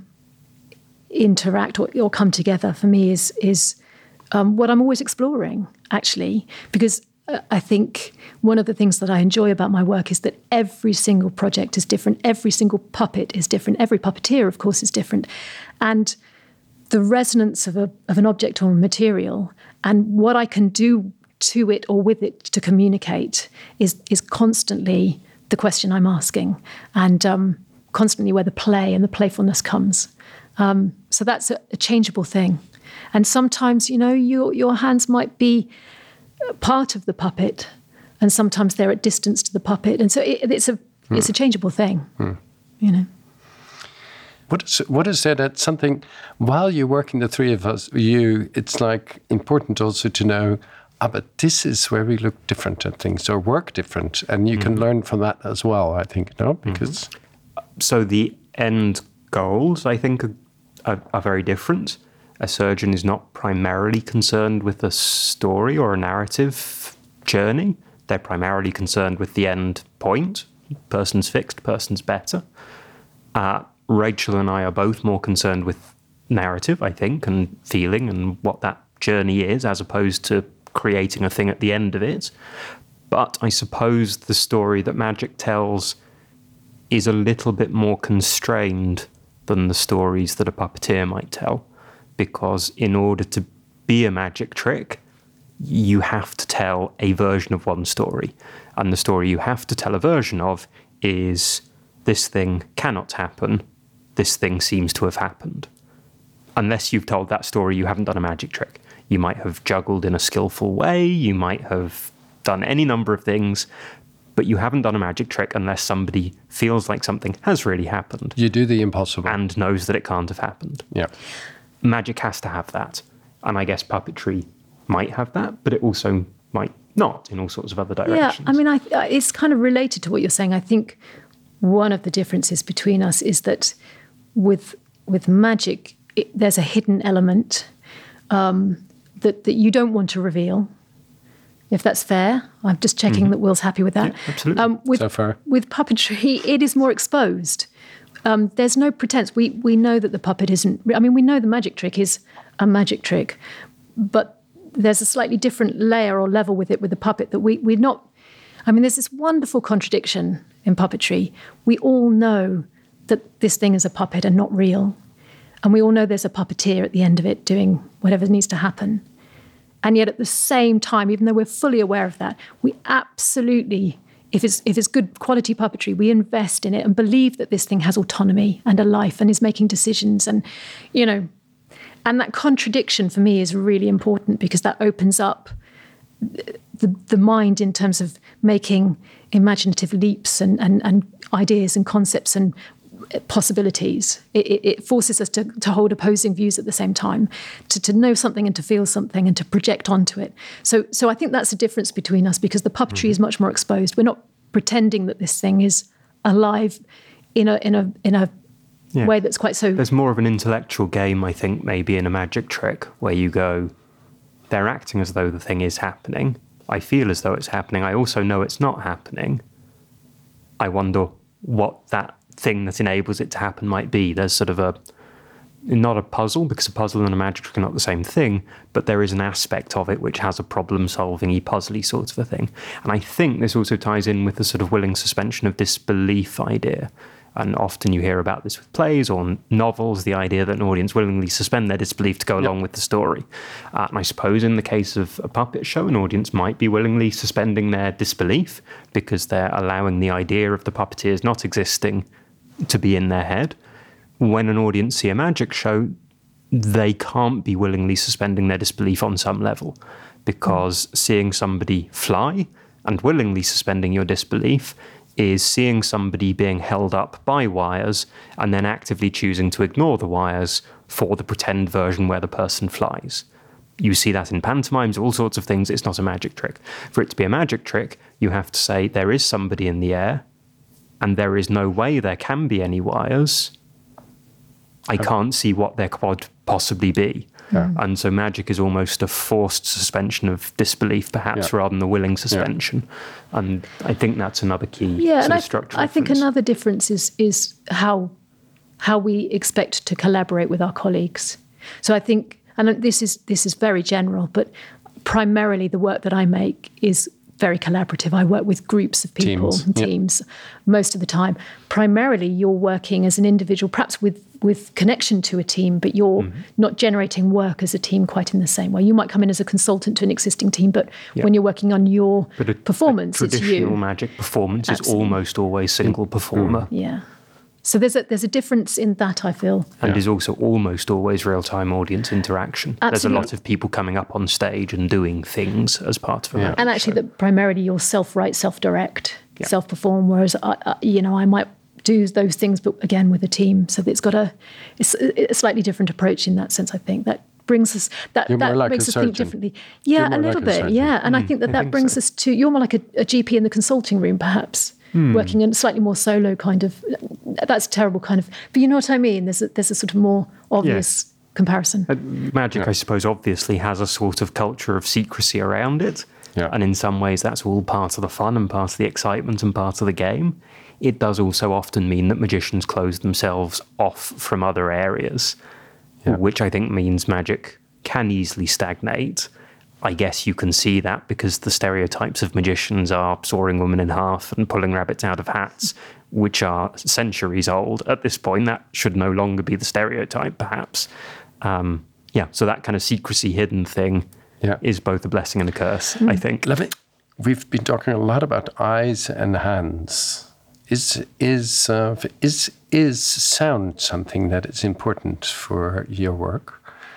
interact or, or come together, for me, is, is um, what I'm always exploring, actually. Because uh, I think one of the things that I enjoy about my work is that every single project is different. Every single puppet is different. Every puppeteer, of course, is different. And the resonance of a of an object or a material and what I can do to it or with it to communicate is is constantly the question I'm asking, and um, constantly where the play and the playfulness comes. Um, so that's a, a changeable thing. And sometimes, you know, your your hands might be part of the puppet, and sometimes they're at distance to the puppet, and so it, it's a mm. it's a changeable thing, mm. you know. What is, what is there that something, while you're working, the three of us, you, it's like important also to know, ah, but this is where we look different at things or work different. And you mm-hmm. can learn from that as well, I think, no? Because mm-hmm. So the end goals, I think, are, are, are very different. A surgeon is not primarily concerned with a story or a narrative journey. They're primarily concerned with the end point. Person's fixed, person's better. Uh, Rachel and I are both more concerned with narrative, I think, and feeling and what that journey is, as opposed to creating a thing at the end of it. But I suppose the story that magic tells is a little bit more constrained than the stories that a puppeteer might tell, because in order to be a magic trick, you have to tell a version of one story. And the story you have to tell a version of is, this thing cannot happen, this thing seems to have happened. Unless you've told that story, you haven't done a magic trick. You might have juggled in a skillful way, you might have done any number of things, but you haven't done a magic trick unless somebody feels like something has really happened. You do the impossible. And knows that it can't have happened. Yeah. Magic has to have that. And I guess puppetry might have that, but it also might not in all sorts of other directions. Yeah, I mean, I, it's kind of related to what you're saying. I think one of the differences between us is that with with magic, it, there's a hidden element. Um, that, that you don't want to reveal, if that's fair. I'm just checking mm-hmm. that Will's happy with that. Yeah, absolutely. Um, with, so far. With puppetry, it is more exposed. Um, there's no pretense. We we know that the puppet isn't... I mean, we know the magic trick is a magic trick, but there's a slightly different layer or level with it with the puppet that we, we're not... I mean, there's this wonderful contradiction in puppetry. We all know that this thing is a puppet and not real. And we all know there's a puppeteer at the end of it doing whatever needs to happen. And yet at the same time, even though we're fully aware of that, we absolutely, if it's if it's good quality puppetry, we invest in it and believe that this thing has autonomy and a life and is making decisions. And, you know, and that contradiction for me is really important because that opens up the the mind in terms of making imaginative leaps and, and, and ideas and concepts and possibilities. It, it forces us to, to hold opposing views at the same time, to, to know something and to feel something and to project onto it. So so I think that's the difference between us because the puppetry mm-hmm. is much more exposed. We're not pretending that this thing is alive in a in a in a yeah. way that's quite so... There's more of an intellectual game, I think, maybe in a magic trick where you go, they're acting as though the thing is happening. I feel as though it's happening. I also know it's not happening. I wonder what that thing that enables it to happen might be. There's sort of a, not a puzzle, because a puzzle and a magic trick are not the same thing, but there is an aspect of it which has a problem-solving-y, puzzly sort of a thing. And I think this also ties in with the sort of willing suspension of disbelief idea. And often you hear about this with plays or novels, the idea that an audience willingly suspend their disbelief to go yep. along with the story. Uh, and I suppose in the case of a puppet show, an audience might be willingly suspending their disbelief because they're allowing the idea of the puppeteers not existing to be in their head. When an audience see a magic show, they can't be willingly suspending their disbelief on some level, because mm. seeing somebody fly and willingly suspending your disbelief is seeing somebody being held up by wires and then actively choosing to ignore the wires for the pretend version where the person flies. You see that in pantomimes, all sorts of things. It's not a magic trick. For it to be a magic trick, you have to say there is somebody in the air and there is no way there can be any wires. I can't see what there could possibly be. Yeah. And so magic is almost a forced suspension of disbelief, perhaps, yeah. rather than the willing suspension. Yeah. And I think that's another key yeah, sort and of structural I, I think another difference is is how how we expect to collaborate with our colleagues. So I think, and this is this is very general, but primarily the work that I make is very collaborative. I work with groups of people teams. and teams yep. most of the time. Primarily, you're working as an individual, perhaps with, with connection to a team, but you're mm-hmm. not generating work as a team quite in the same way. You might come in as a consultant to an existing team, but yep. when you're working on your but a, performance, a it's you. Traditional magic performance Absolutely. is almost always single performer. Mm. Yeah. So there's a there's a difference in that, I feel. And yeah. is also almost always real-time audience interaction. Absolutely. There's a lot of people coming up on stage and doing things as part of a yeah. magic And actually, show. that primarily you'll self-write, self-direct, yeah. self-perform, whereas, I, I, you know, I might do those things, but again, with a team. So it's got a, it's a slightly different approach in that sense, I think. That brings us, that, You're that more like makes a us think surgeon. differently. Yeah, You're a more little like a bit, surgeon. yeah. And Mm, I think that I that think brings so. us to, you're more like a, a G P in the consulting room, perhaps. Mm. Working in a slightly more solo kind of, that's terrible kind of, but you know what I mean? There's a, there's a sort of more obvious Yes. comparison. Uh, Magic, Yeah. I suppose, obviously has a sort of culture of secrecy around it. Yeah. And in some ways, that's all part of the fun and part of the excitement and part of the game. It does also often mean that magicians close themselves off from other areas, Yeah. which I think means magic can easily stagnate. I guess you can see that because the stereotypes of magicians are sawing women in half and pulling rabbits out of hats, which are centuries old. At this point, that should no longer be the stereotype, perhaps. Um, yeah, so that kind of secrecy hidden thing Yeah. is both a blessing and a curse, I think. Love it. We've been talking a lot about eyes and hands. Is is uh, is is sound something that is important for your work?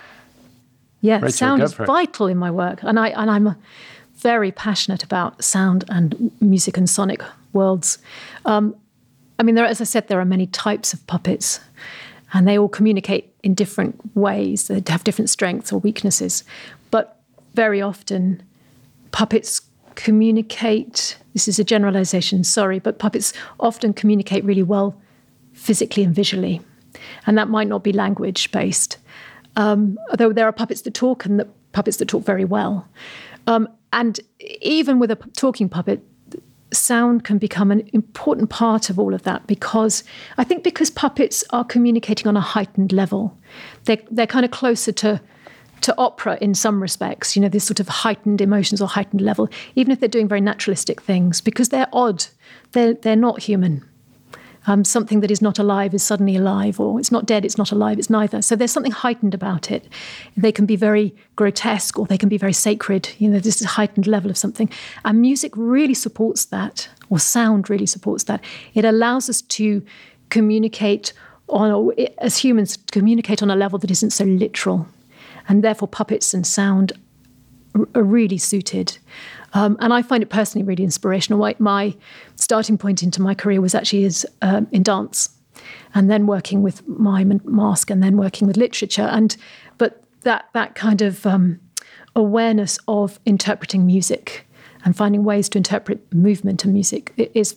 Yeah, Rachel, sound go is for it. vital in my work, and I and I'm very passionate about sound and music and sonic worlds. Um, I mean, there, as I said, there are many types of puppets, and they all communicate in different ways. They have different strengths or weaknesses, but very often, puppets communicate. This is a generalization, sorry, but puppets often communicate really well physically and visually, and that might not be language based. Um, although there are puppets that talk and that puppets that talk very well. Um, and even with a p- talking puppet, sound can become an important part of all of that, because I think because puppets are communicating on a heightened level, they're, they're kind of closer to to opera in some respects, you know, this sort of heightened emotions or heightened level, even if they're doing very naturalistic things, because they're odd, they're, they're not human. Um, something that is not alive is suddenly alive, or it's not dead, it's not alive, it's neither. So there's something heightened about it. They can be very grotesque, or they can be very sacred. You know, this is a heightened level of something. And music really supports that, or sound really supports that. It allows us to communicate on, as humans, communicate on a level that isn't so literal. And therefore puppets and sound are really suited. Um, and I find it personally really inspirational. My, my starting point into my career was actually as, um, in dance, and then working with mime and mask, and then working with literature. And but that that kind of um, awareness of interpreting music and finding ways to interpret movement and music is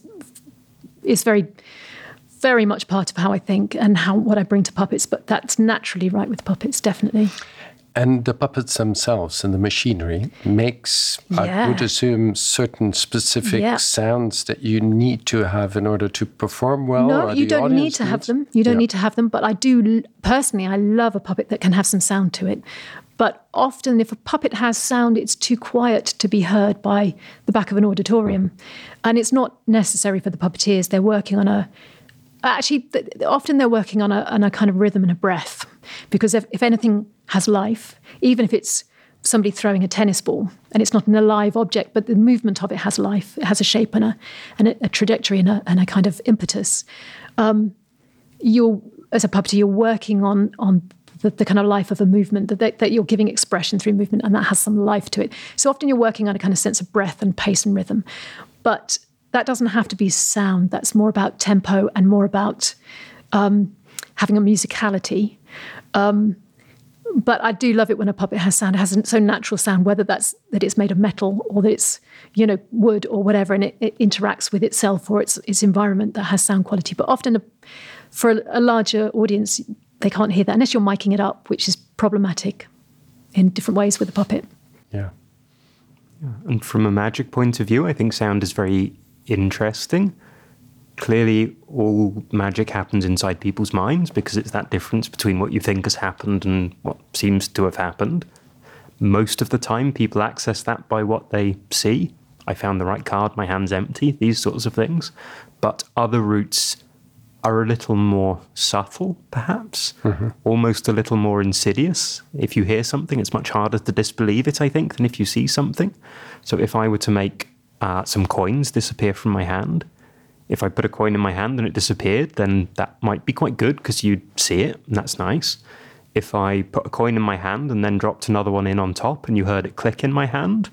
is very, very much part of how I think and how what I bring to puppets. But that's naturally right with puppets, definitely. And the puppets themselves and the machinery makes, yeah. I would assume, certain specific yeah. sounds that you need to have in order to perform well? No, or you don't need to needs? have them. You don't yeah. need to have them. But I do, personally, I love a puppet that can have some sound to it. But often if a puppet has sound, it's too quiet to be heard by the back of an auditorium. And it's not necessary for the puppeteers. They're working on a... Actually, often they're working on a, on a kind of rhythm and a breath, because if, if anything has life, even if it's somebody throwing a tennis ball and it's not an alive object, but the movement of it has life, it has a shape and a, and a, a trajectory and a, and a kind of impetus. Um, you're, as a puppeteer, you're working on on the, the kind of life of a movement, that, that you're giving expression through movement, and that has some life to it. So often you're working on a kind of sense of breath and pace and rhythm. But that doesn't have to be sound. That's more about tempo and more about um, having a musicality. Um, but I do love it when a puppet has sound. It has a so natural sound, whether that's that it's made of metal or that it's, you know, wood or whatever, and it, it interacts with itself or its its environment that has sound quality. But often, a, for a, a larger audience, they can't hear that unless you're miking it up, which is problematic in different ways with a puppet. Yeah. yeah. And from a magic point of view, I think sound is very interesting. Clearly, all magic happens inside people's minds, because it's that difference between what you think has happened and what seems to have happened. Most of the time, people access that by what they see. I found the right card, my hand's empty, these sorts of things. But other routes are a little more subtle, perhaps, mm-hmm. almost a little more insidious. If you hear something, it's much harder to disbelieve it, I think, than if you see something. So if I were to make Uh, some coins disappear from my hand. If I put a coin in my hand and it disappeared, then that might be quite good because you'd see it, and that's nice. If I put a coin in my hand and then dropped another one in on top and you heard it click in my hand,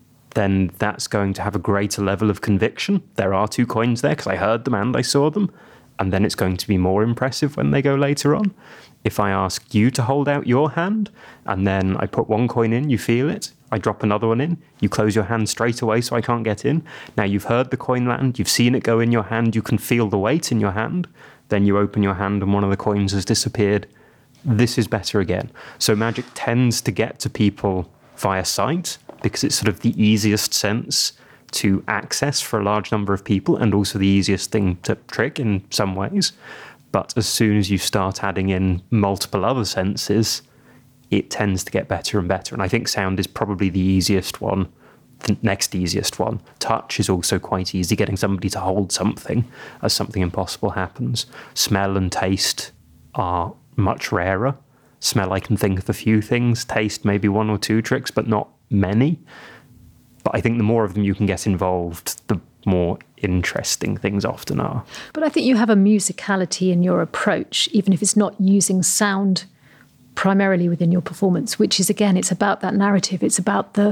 then that's going to have a greater level of conviction. There are two coins there because I heard them and I saw them, and then it's going to be more impressive when they go later on. If I ask you to hold out your hand and then I put one coin in, you feel it, I drop another one in, you close your hand straight away so I can't get in. Now you've heard the coin land, you've seen it go in your hand, you can feel the weight in your hand, then you open your hand and one of the coins has disappeared. This is better again. So magic tends to get to people via sight, because it's sort of the easiest sense to access for a large number of people, and also the easiest thing to trick in some ways. But as soon as you start adding in multiple other senses, it tends to get better and better. And I think sound is probably the easiest one, the next easiest one. Touch is also quite easy, getting somebody to hold something as something impossible happens. Smell and taste are much rarer. Smell, I can think of a few things. Taste, maybe one or two tricks, but not many. But I think the more of them you can get involved, the more interesting things often are. But I think you have a musicality in your approach, even if it's not using sound primarily within your performance, which is, again, it's about that narrative. It's about the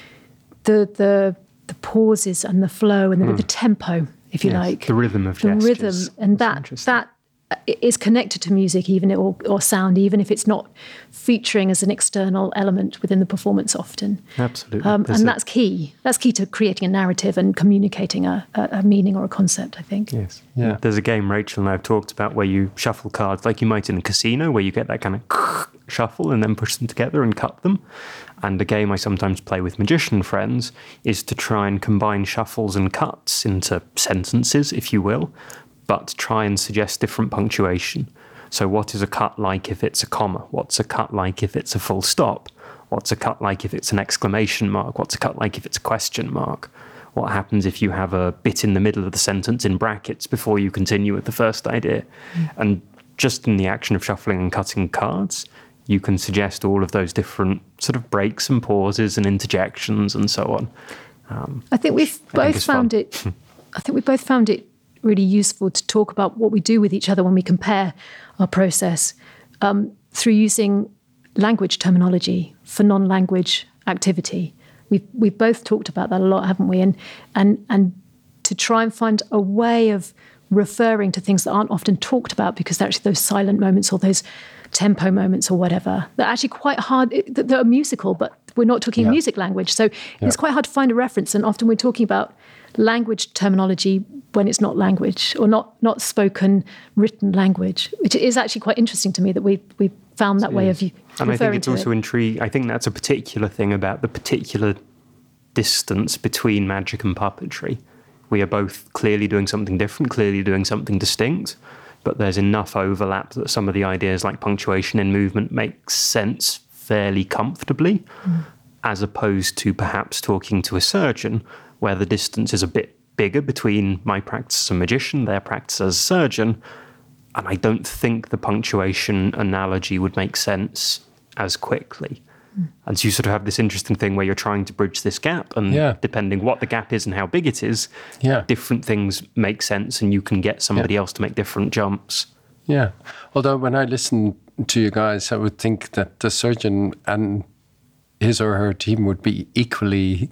the the, the pauses and the flow and the, mm. the tempo, if you yes, like. The rhythm of the gestures. The rhythm, and that that is connected to music, even or, or sound, even if it's not featuring as an external element within the performance often. Absolutely. Um, and a, that's key. That's key to creating a narrative and communicating a, a, a meaning or a concept, I think. Yes. Yeah. There's a game Rachel and I have talked about where you shuffle cards like you might in a casino, where you get that kind of shuffle and then push them together and cut them. And a game I sometimes play with magician friends is to try and combine shuffles and cuts into sentences, if you will, but try and suggest different punctuation. So what is a cut like if it's a comma? What's a cut like if it's a full stop? What's a cut like if it's an exclamation mark? What's a cut like if it's a question mark? What happens if you have a bit in the middle of the sentence in brackets before you continue with the first idea? Mm. And just in the action of shuffling and cutting cards, you can suggest all of those different sort of breaks and pauses and interjections and so on. Um, I think we've I both think found fun. it. I think we both found it really useful to talk about what we do with each other when we compare our process um, through using language terminology for non-language activity. We've we've both talked about that a lot, haven't we? And and and to try and find a way of referring to things that aren't often talked about because they're actually those silent moments or those tempo moments or whatever. They're actually quite hard. They're musical, but we're not talking yeah. music language. So yeah. it's quite hard to find a reference. And often we're talking about language terminology when it's not language or not not spoken, written language, which is actually quite interesting to me that we we found that it way is. of you. And I think it's also it. intriguing. I think that's a particular thing about the particular distance between magic and puppetry. We are both clearly doing something different, clearly doing something distinct, but there's enough overlap that some of the ideas like punctuation in movement make sense fairly comfortably, mm. as opposed to perhaps talking to a surgeon where the distance is a bit bigger between my practice as a magician, their practice as a surgeon, and I don't think the punctuation analogy would make sense as quickly. Mm. And so you sort of have this interesting thing where you're trying to bridge this gap, and yeah. depending what the gap is and how big it is, yeah. different things make sense, and you can get somebody yeah. else to make different jumps. Yeah. Although when I listen to you guys, I would think that the surgeon and his or her team would be equally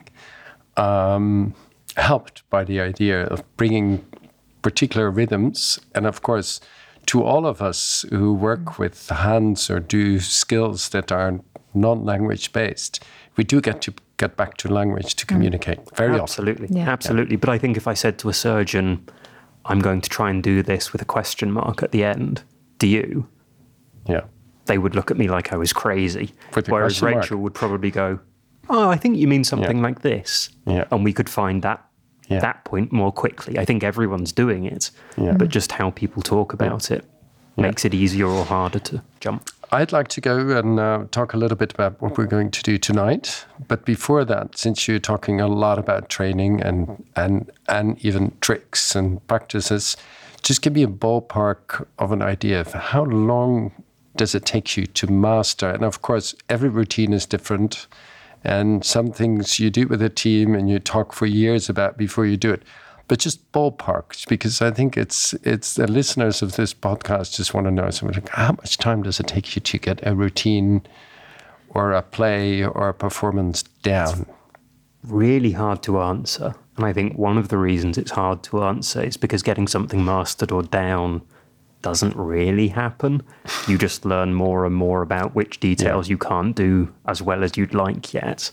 um, helped by the idea of bringing particular rhythms. And of course, to all of us who work with hands or do skills that are non-language based, we do get to get back to language to communicate mm. very absolutely. often. Yeah. Absolutely. But I think if I said to a surgeon, I'm going to try and do this with a question mark at the end, do you? Yeah. They would look at me like I was crazy. Whereas Rachel mark. would probably go, oh, I think you mean something yeah. like this. Yeah. And we could find that yeah. that point more quickly. I think everyone's doing it, yeah. but just how people talk about yeah. it makes yeah. it easier or harder to jump. I'd like to go and uh, talk a little bit about what we're going to do tonight. But before that, since you're talking a lot about training and and and even tricks and practices, just give me a ballpark of an idea of how long does it take you to master? And of course, every routine is different. And some things you do with a team and you talk for years about before you do it. But just ballpark, because I think it's it's the listeners of this podcast just want to know something like, how much time does it take you to get a routine or a play or a performance down? It's really hard to answer. And I think one of the reasons it's hard to answer is because getting something mastered or down doesn't really happen. You just learn more and more about which details yeah. you can't do as well as you'd like yet.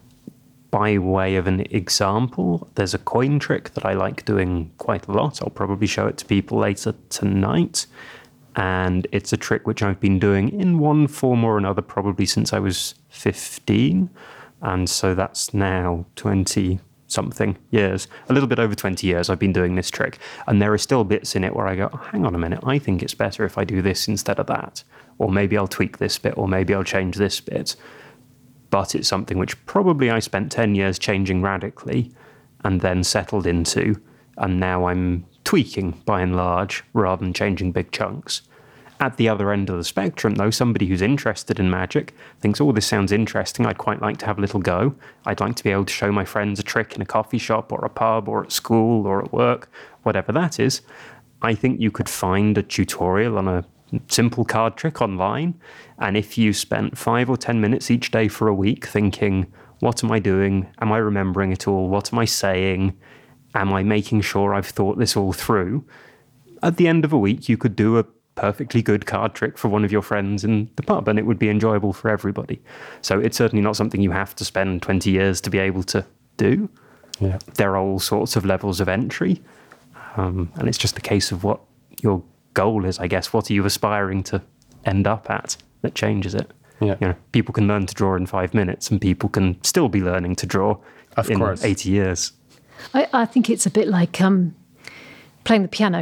By way of an example, there's a coin trick that I like doing quite a lot. I'll probably show it to people later tonight. And it's a trick which I've been doing in one form or another probably since I was fifteen. And so that's now twenty something years, a little bit over twenty years I've been doing this trick. And there are still bits in it where I go, oh, hang on a minute, I think it's better if I do this instead of that. Or maybe I'll tweak this bit, or maybe I'll change this bit. But it's something which probably I spent ten years changing radically and then settled into. And now I'm tweaking by and large rather than changing big chunks. At the other end of the spectrum, though, somebody who's interested in magic thinks, oh, this sounds interesting. I'd quite like to have a little go. I'd like to be able to show my friends a trick in a coffee shop or a pub or at school or at work, whatever that is. I think you could find a tutorial on a simple card trick online. And if you spent five or ten minutes each day for a week thinking, what am I doing? Am I remembering it all? What am I saying? Am I making sure I've thought this all through? At the end of a week, you could do a perfectly good card trick for one of your friends in the pub, and it would be enjoyable for everybody. So it's certainly not something you have to spend twenty years to be able to do. Yeah. There are all sorts of levels of entry. Um, and it's just a case of what your goal is, I guess. What are you aspiring to end up at? that changes it. Yeah. You know, people can learn to draw in five minutes, and people can still be learning to draw Of in course. eighty years. I, I think it's a bit like um, playing the piano,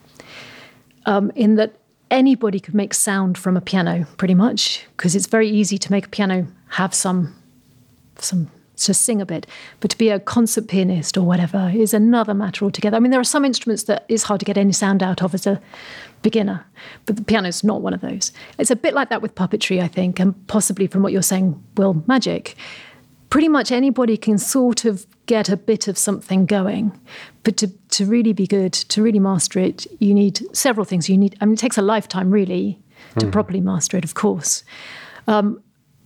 um, in that anybody could make sound from a piano, pretty much, because it's very easy to make a piano have some, some to sing a bit. But to be a concert pianist or whatever is another matter altogether. I mean, there are some instruments that it's hard to get any sound out of as a beginner, but the piano's not one of those. It's a bit like that with puppetry, I think, and possibly from what you're saying, Will, magic. Pretty much anybody can sort of get a bit of something going, but to, to really be good, to really master it, you need several things. You need, I mean, it takes a lifetime really to mm. properly master it, of course. Um,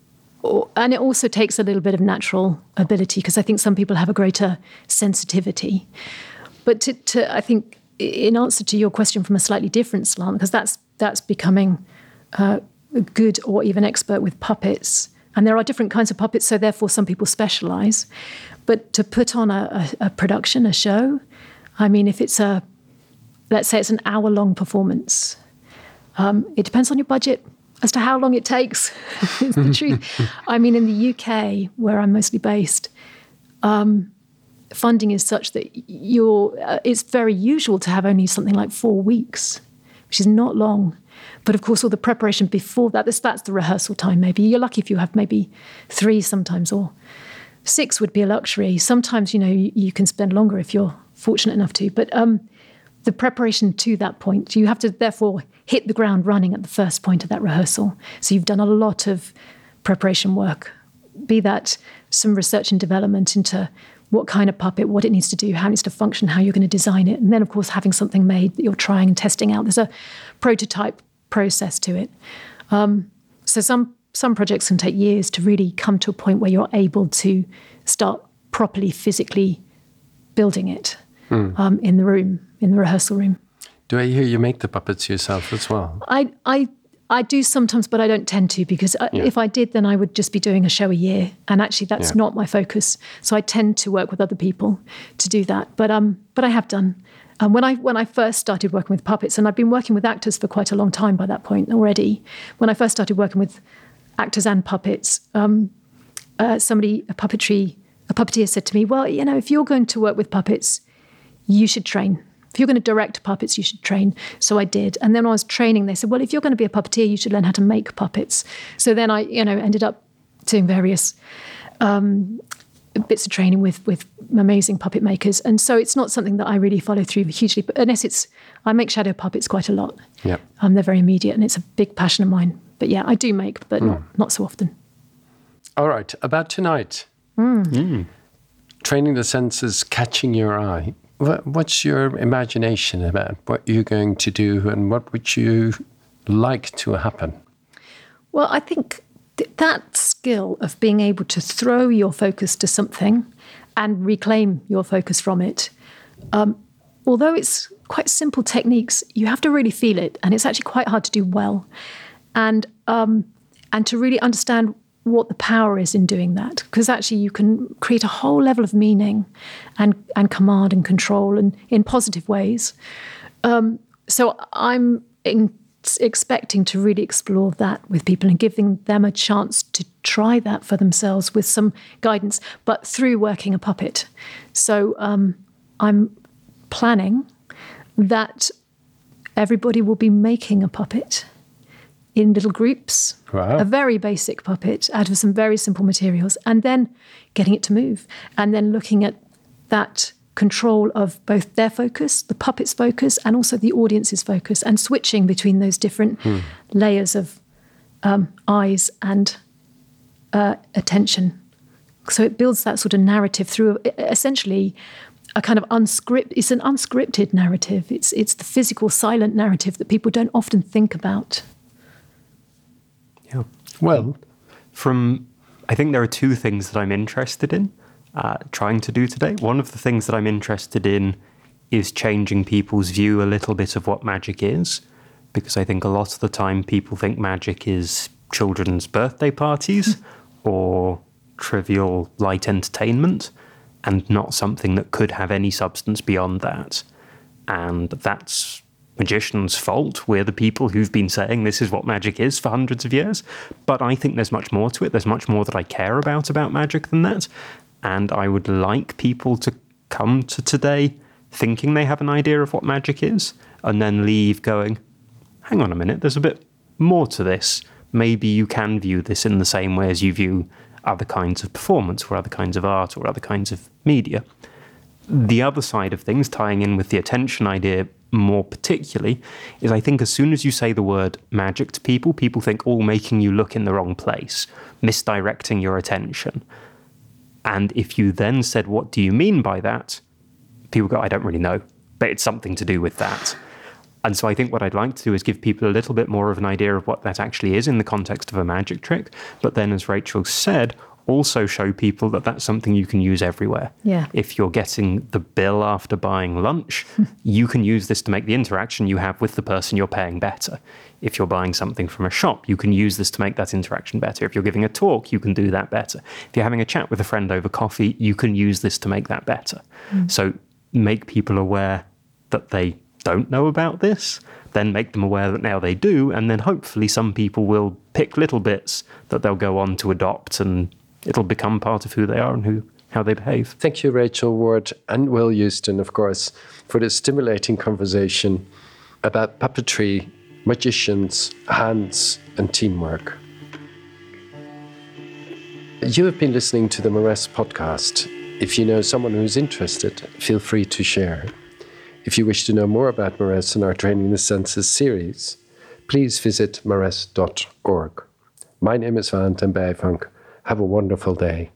or, and it also takes a little bit of natural ability, because I think some people have a greater sensitivity. But to, to I think, in answer to your question from a slightly different slant, because that's that's becoming uh, good or even expert with puppets. And there are different kinds of puppets, so therefore some people specialise. But to put on a, a, a production, a show, I mean, if it's a, let's say it's an hour-long performance, um, it depends on your budget as to how long it takes, is the truth. I mean, in the U K, where I'm mostly based, um, funding is such that you're, uh, it's very usual to have only something like four weeks, which is not long. But of course, all the preparation before that, that's, that's the rehearsal time maybe. You're lucky if you have maybe three sometimes, or six would be a luxury. Sometimes, you know, you, you can spend longer if you're fortunate enough to. But um, the preparation to that point, you have to therefore hit the ground running at the first point of that rehearsal. So you've done a lot of preparation work, be that some research and development into what kind of puppet, what it needs to do, how it needs to function, how you're going to design it. And then, of course, having something made that you're trying and testing out. There's a prototype process to it. Um, so some some projects can take years to really come to a point where you're able to start properly physically building it mm. um, in the room, in the rehearsal room. Do I hear you make the puppets yourself as well? I I I do sometimes, but I don't tend to, because yeah. if I did, then I would just be doing a show a year. And actually, that's yeah. not my focus. So I tend to work with other people to do that. But um, but I have done. Um, when I when I first started working with puppets, and I've been working with actors for quite a long time by that point already. When I first started working with actors and puppets, um, uh, somebody, a puppetry, a puppeteer said to me, "Well, you know, if you're going to work with puppets, you should train. If you're going to direct puppets, you should train." So I did. And then when I was training, they said, well, if you're going to be a puppeteer, you should learn how to make puppets. So then I, you know, ended up doing various um, bits of training with, with amazing puppet makers. And so it's not something that I really follow through hugely, but unless it's, I make shadow puppets quite a lot. Yeah. Um, they're very immediate, and it's a big passion of mine. But yeah, I do make, but mm. not, not so often. All right. About tonight. Mm. Mm. Training the senses, catching your eye. What's your imagination about what you're going to do, and what would you like to happen? Well, I think th- that skill of being able to throw your focus to something and reclaim your focus from it, um, although it's quite simple techniques, you have to really feel it, and it's actually quite hard to do well. And um, and to really understand what the power is in doing that, because actually you can create a whole level of meaning and, and command and control, and in positive ways. Um, so I'm in, expecting to really explore that with people and giving them a chance to try that for themselves with some guidance, but through working a puppet. So um, I'm planning that everybody will be making a puppet in little groups, wow. a very basic puppet out of some very simple materials, and then getting it to move, and then looking at that control of both their focus, the puppet's focus, and also the audience's focus, and switching between those different hmm. layers of um, eyes and uh, attention. So it builds that sort of narrative through essentially a kind of unscripted, it's an unscripted narrative. It's, it's the physical, silent narrative that people don't often think about. Yeah. Well, from I think there are two things that I'm interested in uh, trying to do today. One of the things that I'm interested in is changing people's view a little bit of what magic is, because I think a lot of the time people think magic is children's birthday parties or trivial light entertainment, and not something that could have any substance beyond that. And that's magicians' fault. We're the people who've been saying this is what magic is for hundreds of years. But I think there's much more to it. There's much more that I care about about magic than that. And I would like people to come to today thinking they have an idea of what magic is, and then leave going, hang on a minute, there's a bit more to this. Maybe you can view this in the same way as you view other kinds of performance or other kinds of art or other kinds of media. The other side of things, tying in with the attention idea more particularly, is I think as soon as you say the word magic to people, people think, oh, making you look in the wrong place, misdirecting your attention. And if you then said, what do you mean by that? People go, I don't really know, but it's something to do with that. And so I think what I'd like to do is give people a little bit more of an idea of what that actually is in the context of a magic trick. But then, as Rachel said, also show people that that's something you can use everywhere. Yeah. If you're getting the bill after buying lunch, you can use this to make the interaction you have with the person you're paying better. If you're buying something from a shop, you can use this to make that interaction better. If you're giving a talk, you can do that better. If you're having a chat with a friend over coffee, you can use this to make that better. Mm. So make people aware that they don't know about this, then make them aware that now they do, and then hopefully some people will pick little bits that they'll go on to adopt, and it'll become part of who they are and who how they behave. Thank you, Rachel Ward and Will Houston, of course, for this stimulating conversation about puppetry, magicians, hands, and teamwork. You have been listening to the Maress podcast. If you know someone who's interested, feel free to share. If you wish to know more about Maress and our Training the Senses series, please visit maress dot org. My name is Valentin Bijvank. Have a wonderful day.